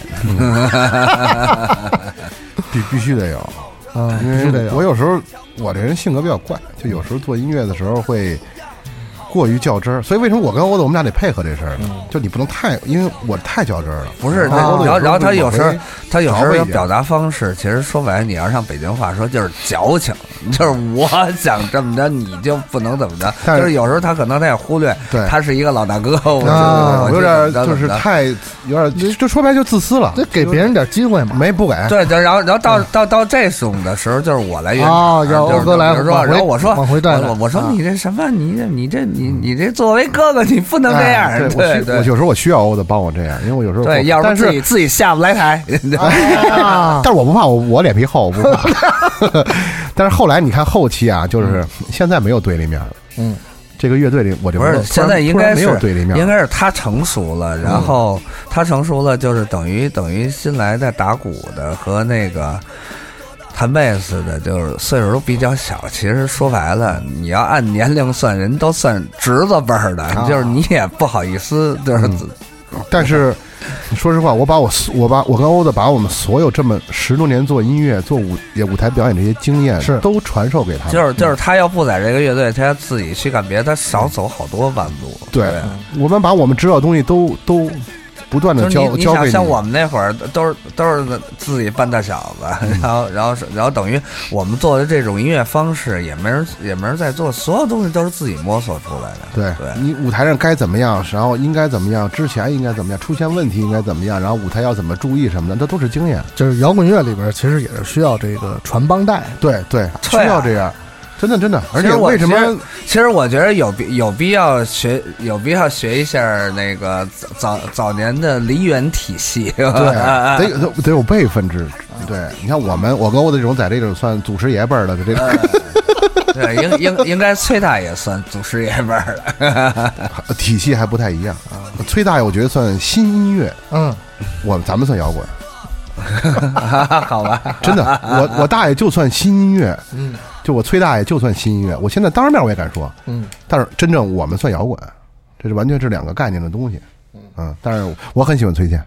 必必须得有啊，必须得有。 我有时候我这人性格比较怪，就有时候做音乐的时候会。过于较真儿，所以为什么我跟欧子我们俩得配合这事儿呢？嗯、就你不能太，因为我太较真儿了。 不是，然后然后他有时候他有时候有表达方式，其实说白了，你要上北京话说就是矫情，就是我想这么着，你就不能怎么着。但是有时候他可能他也忽略， 对， 他是一个老大哥，我啊，有点就是太有点，就说白就自私了， 得给别人点机会嘛， 没不给。 对，然后然后到到到这种的时候，就是我来圆场，要欧哥来， 比如说，然后我说往回带， 我我说你这什么，你这你这你你这作为哥哥，你不能这样。 哎、对对，我有时候我需要欧子帮我这样，因为我有时候对，要是自己自己下不来台。 但是我不怕，我我脸皮厚，我不怕。但是后来你看后期啊，就是现在没有对立面了。嗯，这个乐队里我这不是现在应该是没有对立面， 应该是他成熟了，然后他成熟了，就是等于等于新来的打鼓的和那个。弹贝斯的，就是岁数都比较小。其实说白了，你要按年龄算，人都算侄子辈儿的，啊、就是你也不好意思，就是。 嗯、但是，说实话，我把我我把我跟欧子把我们所有这么十多年做音乐、做舞舞台表演这些经验， 是都传授给他。 就是就是他要不在这个乐队，他要自己去干别的，他少走好多弯路。 对，对我们把我们知道的东西都都。不断的教教给你， 像我们那会儿都是都是自己扮大小子，嗯、然后然后然后等于我们做的这种音乐方式也没人也没人在做，所有东西都是自己摸索出来的。 对，对你舞台上该怎么样，然后应该怎么样，之前应该怎么样，出现问题应该怎么样，然后舞台要怎么注意什么的，这都是经验。 就是摇滚乐里边其实也是需要这个传帮带， 对对，需要这样。真的真的，而且为什么？ 其实我觉得有必有必要学，有必要学一下那个早早年的梨园体系。 对，得有得有辈分制。对，你看我们，我跟我的这种在这种算祖师爷辈儿的这个。 对，应应应该崔大爷算祖师爷辈儿的， 体系还不太一样。崔大爷我觉得算新音乐， 嗯， 我咱们算摇滚。 好吧， 真的，我我大爷就算新音乐，嗯，就我崔大爷就算新音乐，我现在当着面我也敢说，嗯，但是真正我们算摇滚，这是完全是两个概念的东西，嗯，但是我很喜欢崔健，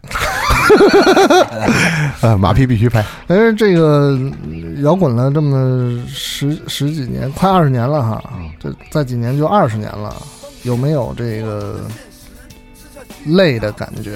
呃，马屁必须拍， 但是这个摇滚了这么十十几年，快二十年了哈，这再几年就二十年了，有没有这个累的感觉？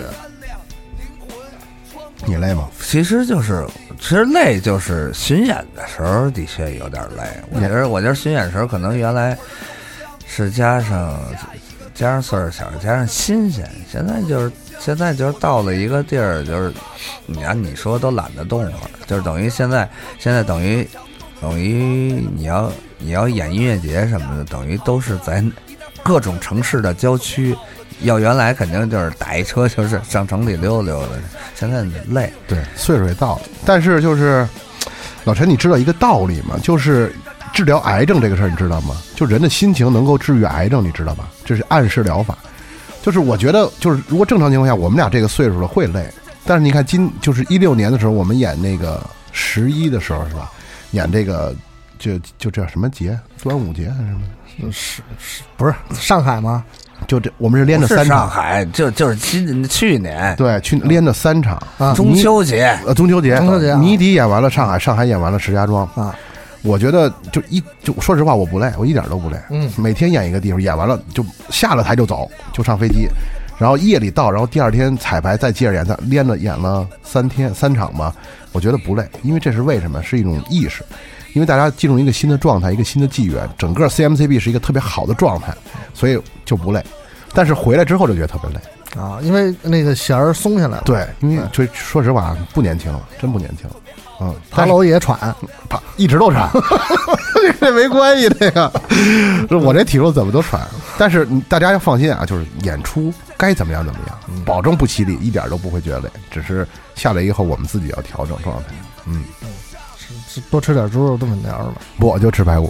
你累吗？ 其实就是，其实累就是巡演的时候的确有点累。我觉得，我觉得巡演的时候可能原来是加上加上岁数小，加上新鲜。现在就是现在就是到了一个地儿，就是你按你说都懒得动了，就是等于现在现在等于等于你要你要演音乐节什么的，等于都是在各种城市的郊区。要原来肯定就是打一车就是上城里溜溜的，现在累， 对，岁数也到了。但是就是老陈，你知道一个道理吗？就是治疗癌症这个事儿，你知道吗？就人的心情能够治愈癌症，你知道吧？这是暗示疗法。就是我觉得，就是如果正常情况下，我们俩这个岁数了会累。但是你看今就是一六年的时候，我们演那个十一的时候是吧？演这个就就叫什么节？端午节还是什么？ 是是不是上海吗？ 就这，我们是连着三场。 上海就就是今去年， 对，去连着三场。 啊、中秋节， 呃，中秋节， 中秋节， 谜底演完了上海，上海演完了石家庄啊。 我觉得就一就说实话，我不累，我一点都不累。嗯，每天演一个地方，演完了就下了台就走，就上飞机，然后夜里到，然后第二天彩排再接着演，连着演了三天三场吧。我觉得不累，因为这是为什么？是一种意识。 因为大家进入一个新的状态，一个新的纪元，整个 C M C B 是一个特别好的状态，所以就不累。但是回来之后就觉得特别累啊，因为那个弦儿松下来了。 对，因为就说实话不年轻了，真不年轻了。嗯， 爬楼也喘， 爬一直都喘，这没关系这个，我这体重怎么都喘。但是大家要放心啊，就是演出该怎么样怎么样，保证不吃力，一点都不会觉得累。只是下来以后，我们自己要调整状态。嗯， 是多吃点猪肉炖粉条吧。 不，我就吃排骨。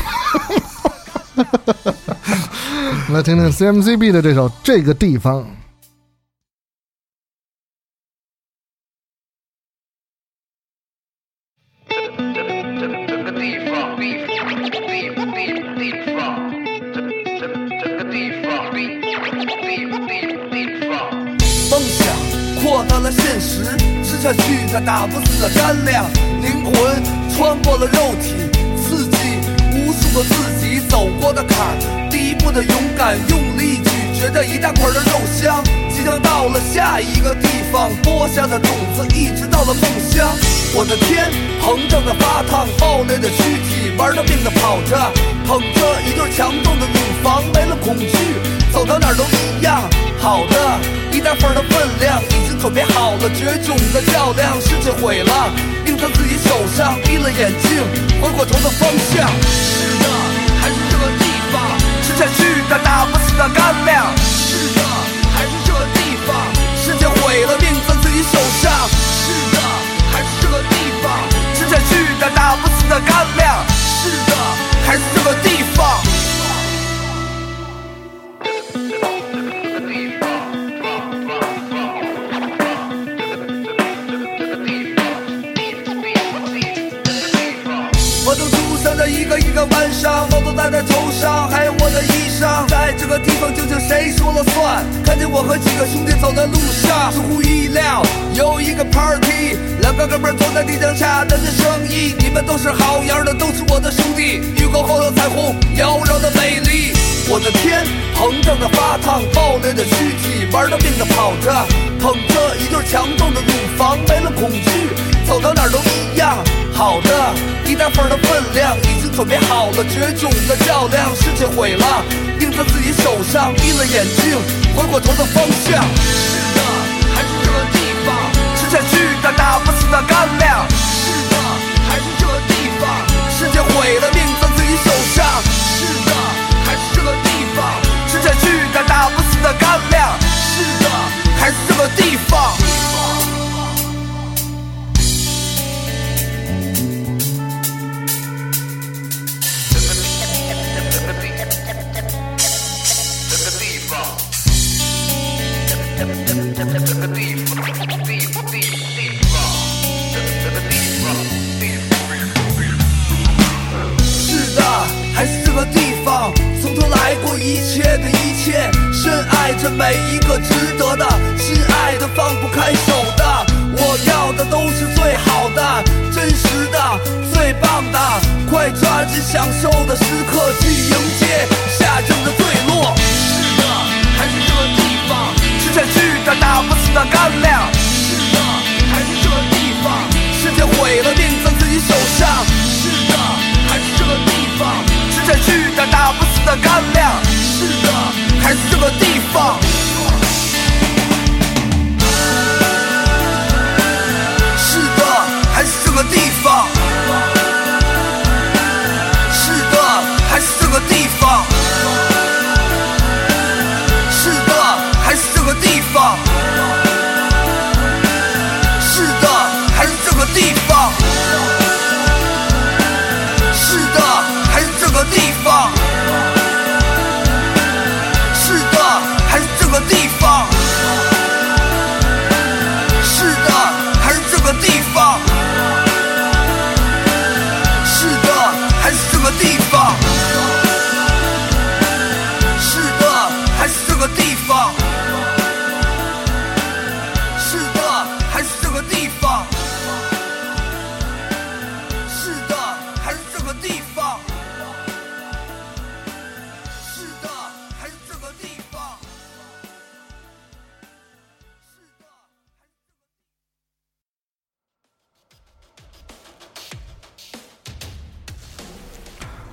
来听听 C M C B 的这首《这个地方》。 梦想扩大了现实，吃下去它打不死的干粮，灵魂穿过了肉体，刺激无数个自己走过的坎儿，第一步的勇敢，用力咀嚼着一大块的肉香，即将到了下一个地方，播下的种子一直到了梦乡。我的天，膨胀的发烫，爆裂的躯体，玩了命的跑着，捧着一对强壮的乳房，没了恐惧，走到哪儿都一样。好的，一大份的分量，已经准备好了绝种的较量，世界毁了，命在自己手上，闭了眼睛，回过头的方向。是的，还是这个地方，吃下去但打不死的干粮。是的，还是这个地方，世界毁了，命在自己手上。是的，还是这个地方，吃下去但打不死的干粮。是的，还是这个地方。我都出生在一个一个晚上，帽子戴在头上，还有我的衣裳，在这个地方究竟谁说了算？看见我和几个兄弟走在路上，出乎意料有一个 party， 两个哥们坐在地上洽谈着生意，你们都是好样的，都是我的兄弟，雨过后的彩虹妖娆的美丽。我的天，膨胀的发烫，爆裂的躯体，玩了命的跑着，捧着一对强壮的乳房，没了恐惧，走到哪儿都一样。好的，一大份的分量，已经准备好了绝种的较量，世界毁了，命在自己手上，闭了眼睛，回过头的方向。是的，还是这个地方，吃下去但打不死的干粮。是的，还是这个地方，世界毁了，命在自己手上。是的，还是这个地方，吃下去但打不死的干粮。是的，还是这个地方。是的，还是这个地方，从头来过一切的一切，深爱着每一个值得的，心爱的放不开手的，我要的都是最好的，真实的，最棒的，快抓紧享受的时刻，去迎接下正的坠落。是的，还是这个地方，吃下去但打不死的干粮。是的，还是这个地方，世界毁了，命在自己手上。是的，还是这个地方，吃下去但打不死的干粮。是的，还是这个地方。是的，还是这个地方。是的，还是这个地方。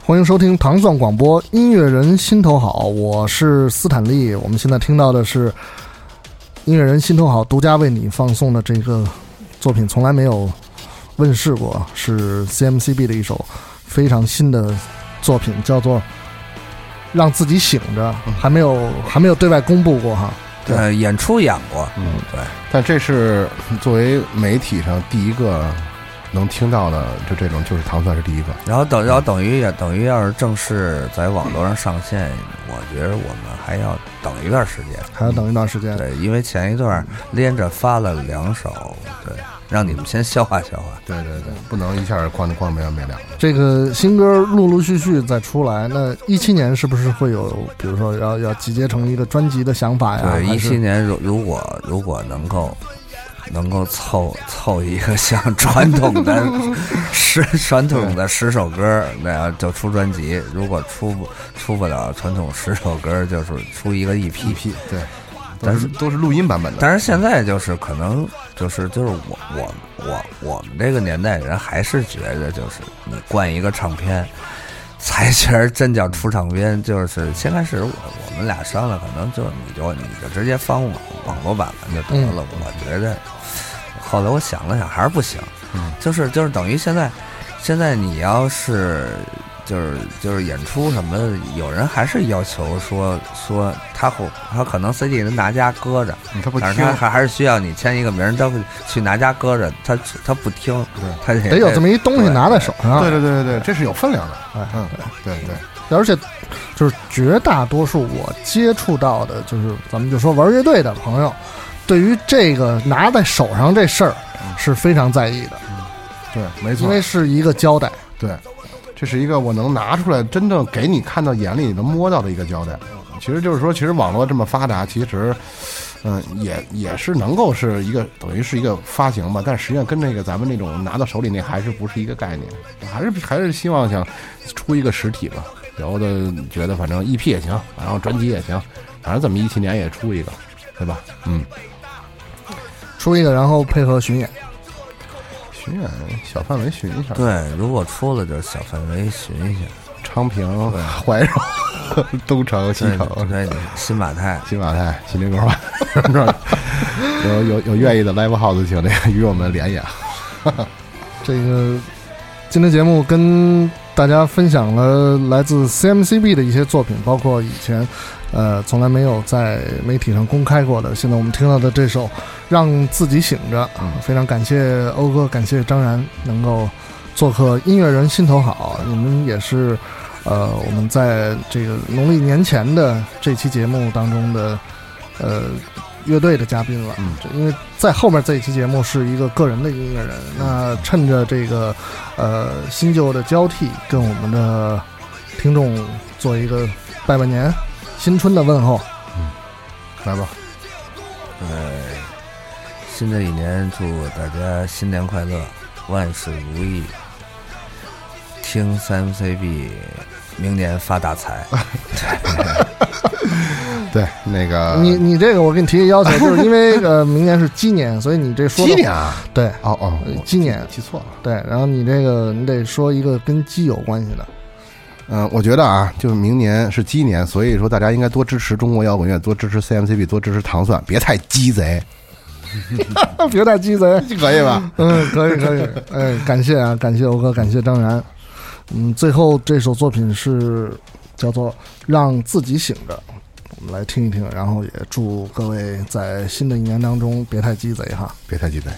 欢迎收听糖蒜广播，音乐人心头好，我是斯坦利。我们现在听到的是音乐人心头好独家为你放送的这个作品，从来没有问世过，是 C M C B 的一首非常新的作品，叫做《让自己醒着》，还没有还没有对外公布过哈。 对，呃、演出演过， 嗯，对。但这是作为媒体上第一个能听到的，就这种就是糖蒜是第一个。 然后等，然后等于也等于要是正式在网络上上线，我觉得我们还要等一段时间， 还要等一段时间。 对，因为前一段连着发了两首，对，让你们先消化消化。 对对对，不能一下光光没完没了。 这个新歌陆陆续续再出来，那一七年是不是会有，比如说要要集结成一个专辑的想法呀？ 对，一七年如如果如果能够。能够凑凑一个像传统的十传统的十首歌那样就出专辑，如果出不出不了传统十首歌，就是出一个 E P。 E P 对， 但是都是录音版本的。 但是现在就是可能就是就是我我我我们这个年代人还是觉得就是你灌一个唱片。才觉得真叫出唱片，就是先开始我我们俩商量，可能就你就你就直接放网网络版本就得了。嗯、我觉得，后来我想了想，还是不行。嗯，就是就是等于现在，现在你要是就是就是演出什么的，有人还是要求说说他他可能 C D 能拿家搁着， 嗯、他不听， 但是他还还是需要你签一个名，他去拿家搁着，他他不听，他得有这么一东西拿在手上。 对对对对对，这是有分量的。哎，嗯，对对对，而且就是绝大多数我接触到的，就是咱们就说玩乐队的朋友，对于这个拿在手上这事儿是非常在意的。 嗯，对，没错， 因为是一个交代。 对。这是一个我能拿出来真正给你看到眼里你能摸到的一个交代。其实就是说，其实网络这么发达，其实嗯也也是能够是一个等于是一个发行吧，但实际上跟那个咱们那种拿到手里那还是不是一个概念。还是还是希望想出一个实体吧。有的觉得反正 E P 也行，然后专辑也行，反正怎么一七年也出一个，对吧？嗯， 出一个，然后配合巡演。 巡演小范围巡一下， 对，如果出了就小范围巡一下， 昌平、怀柔、东城、西城， 对，新马泰、 新马泰、新林沟，有有有愿意的 live house 请这个与我们联系啊。 这个今天节目跟大家分享了来自 C M C B 的一些作品，包括以前呃从来没有在媒体上公开过的，现在我们听到的这首让自己醒着。嗯，非常感谢欧哥，感谢张然能够做客音乐人心头好。你们也是呃我们在这个农历年前的这期节目当中的呃乐队的嘉宾了。嗯，因为在后面这一期节目是一个个人的音乐人，那趁着这个呃新旧的交替，跟我们的听众做一个拜拜年新春的问候。 嗯，来吧。 呃，新的一年祝大家新年快乐，万事如意，听 C M C B 明年发大财。 对，那个你你这个我给你提个要求，就是因为呃明年是鸡年，所以你这说鸡年啊， 对， 哦哦， 鸡年记错了， 对，然后你这个你得说一个跟鸡有关系的。 嗯、呃，我觉得啊，就是明年是鸡年，所以说大家应该多支持中国摇滚乐，多支持 C M C B， 多支持糖蒜，别太鸡贼， 别太鸡贼， 可以吧？ 嗯，可以可以，哎，感谢啊，感谢欧哥，感谢张然。嗯，最后这首作品是叫做《让自己醒着》。我们来听一听，然后也祝各位在新的一年当中别太鸡贼哈， 别太鸡贼。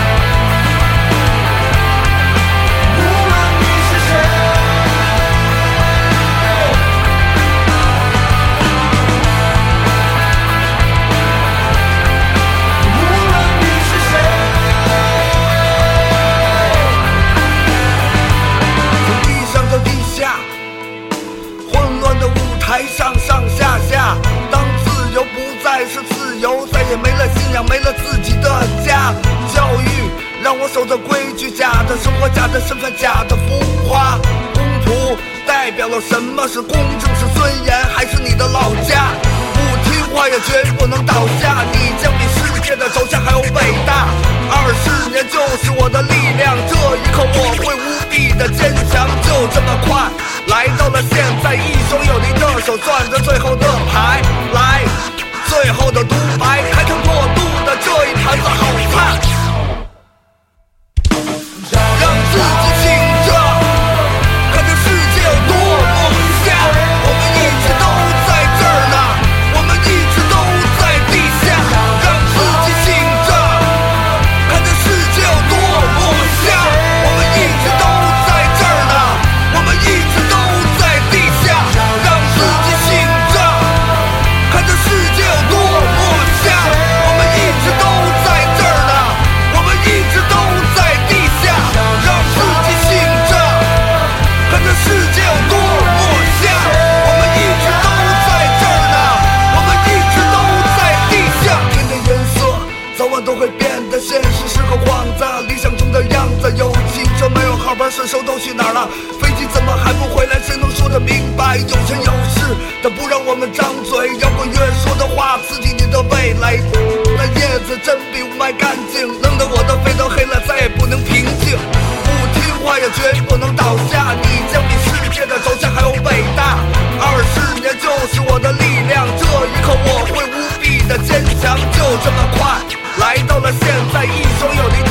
无论你是谁。 守着规矩，假的生活，假的身份，假的浮华。公仆代表了什么是公正，是尊严，还是你的老家？不听话也绝不能倒下，你将比世界的走向还要伟大。二十年就是我的力量，这一刻我会无比的坚强。就这么快来到了现在，一双有力的手攥着最后的牌，来，最后的独白，开膛破肚的这一盘子好菜，让自己醒着，看这世界有多么瞎。我们一直都在这儿呢，我们一直都在地下，让自己醒着，看这世界有多么瞎。我们一直都在这儿呢，我们一直都在地下，让自己醒着，看这世界有多么瞎。我们一直都在这儿呢，我们一直都在地下，让自己醒着，看这世界有多么瞎。我们一直都在这儿呢，我们一直都在地下。天的颜色早晚都会变得，现实是个幌子，理想中的样子。有汽车没有号牌，顺手都去哪儿了？飞机怎么还不回来？谁能说得明白？有权有势的不让我们张嘴，摇滚乐说的话刺激你的味蕾。那叶子真比雾霾干净，弄得我的肺都黑了，再也不能平静。不听话也绝不能倒下，你将比世界的走向还要伟大。二十年就是我的力量，这一刻我会无比的坚强。就这么快来到了现在，一双有力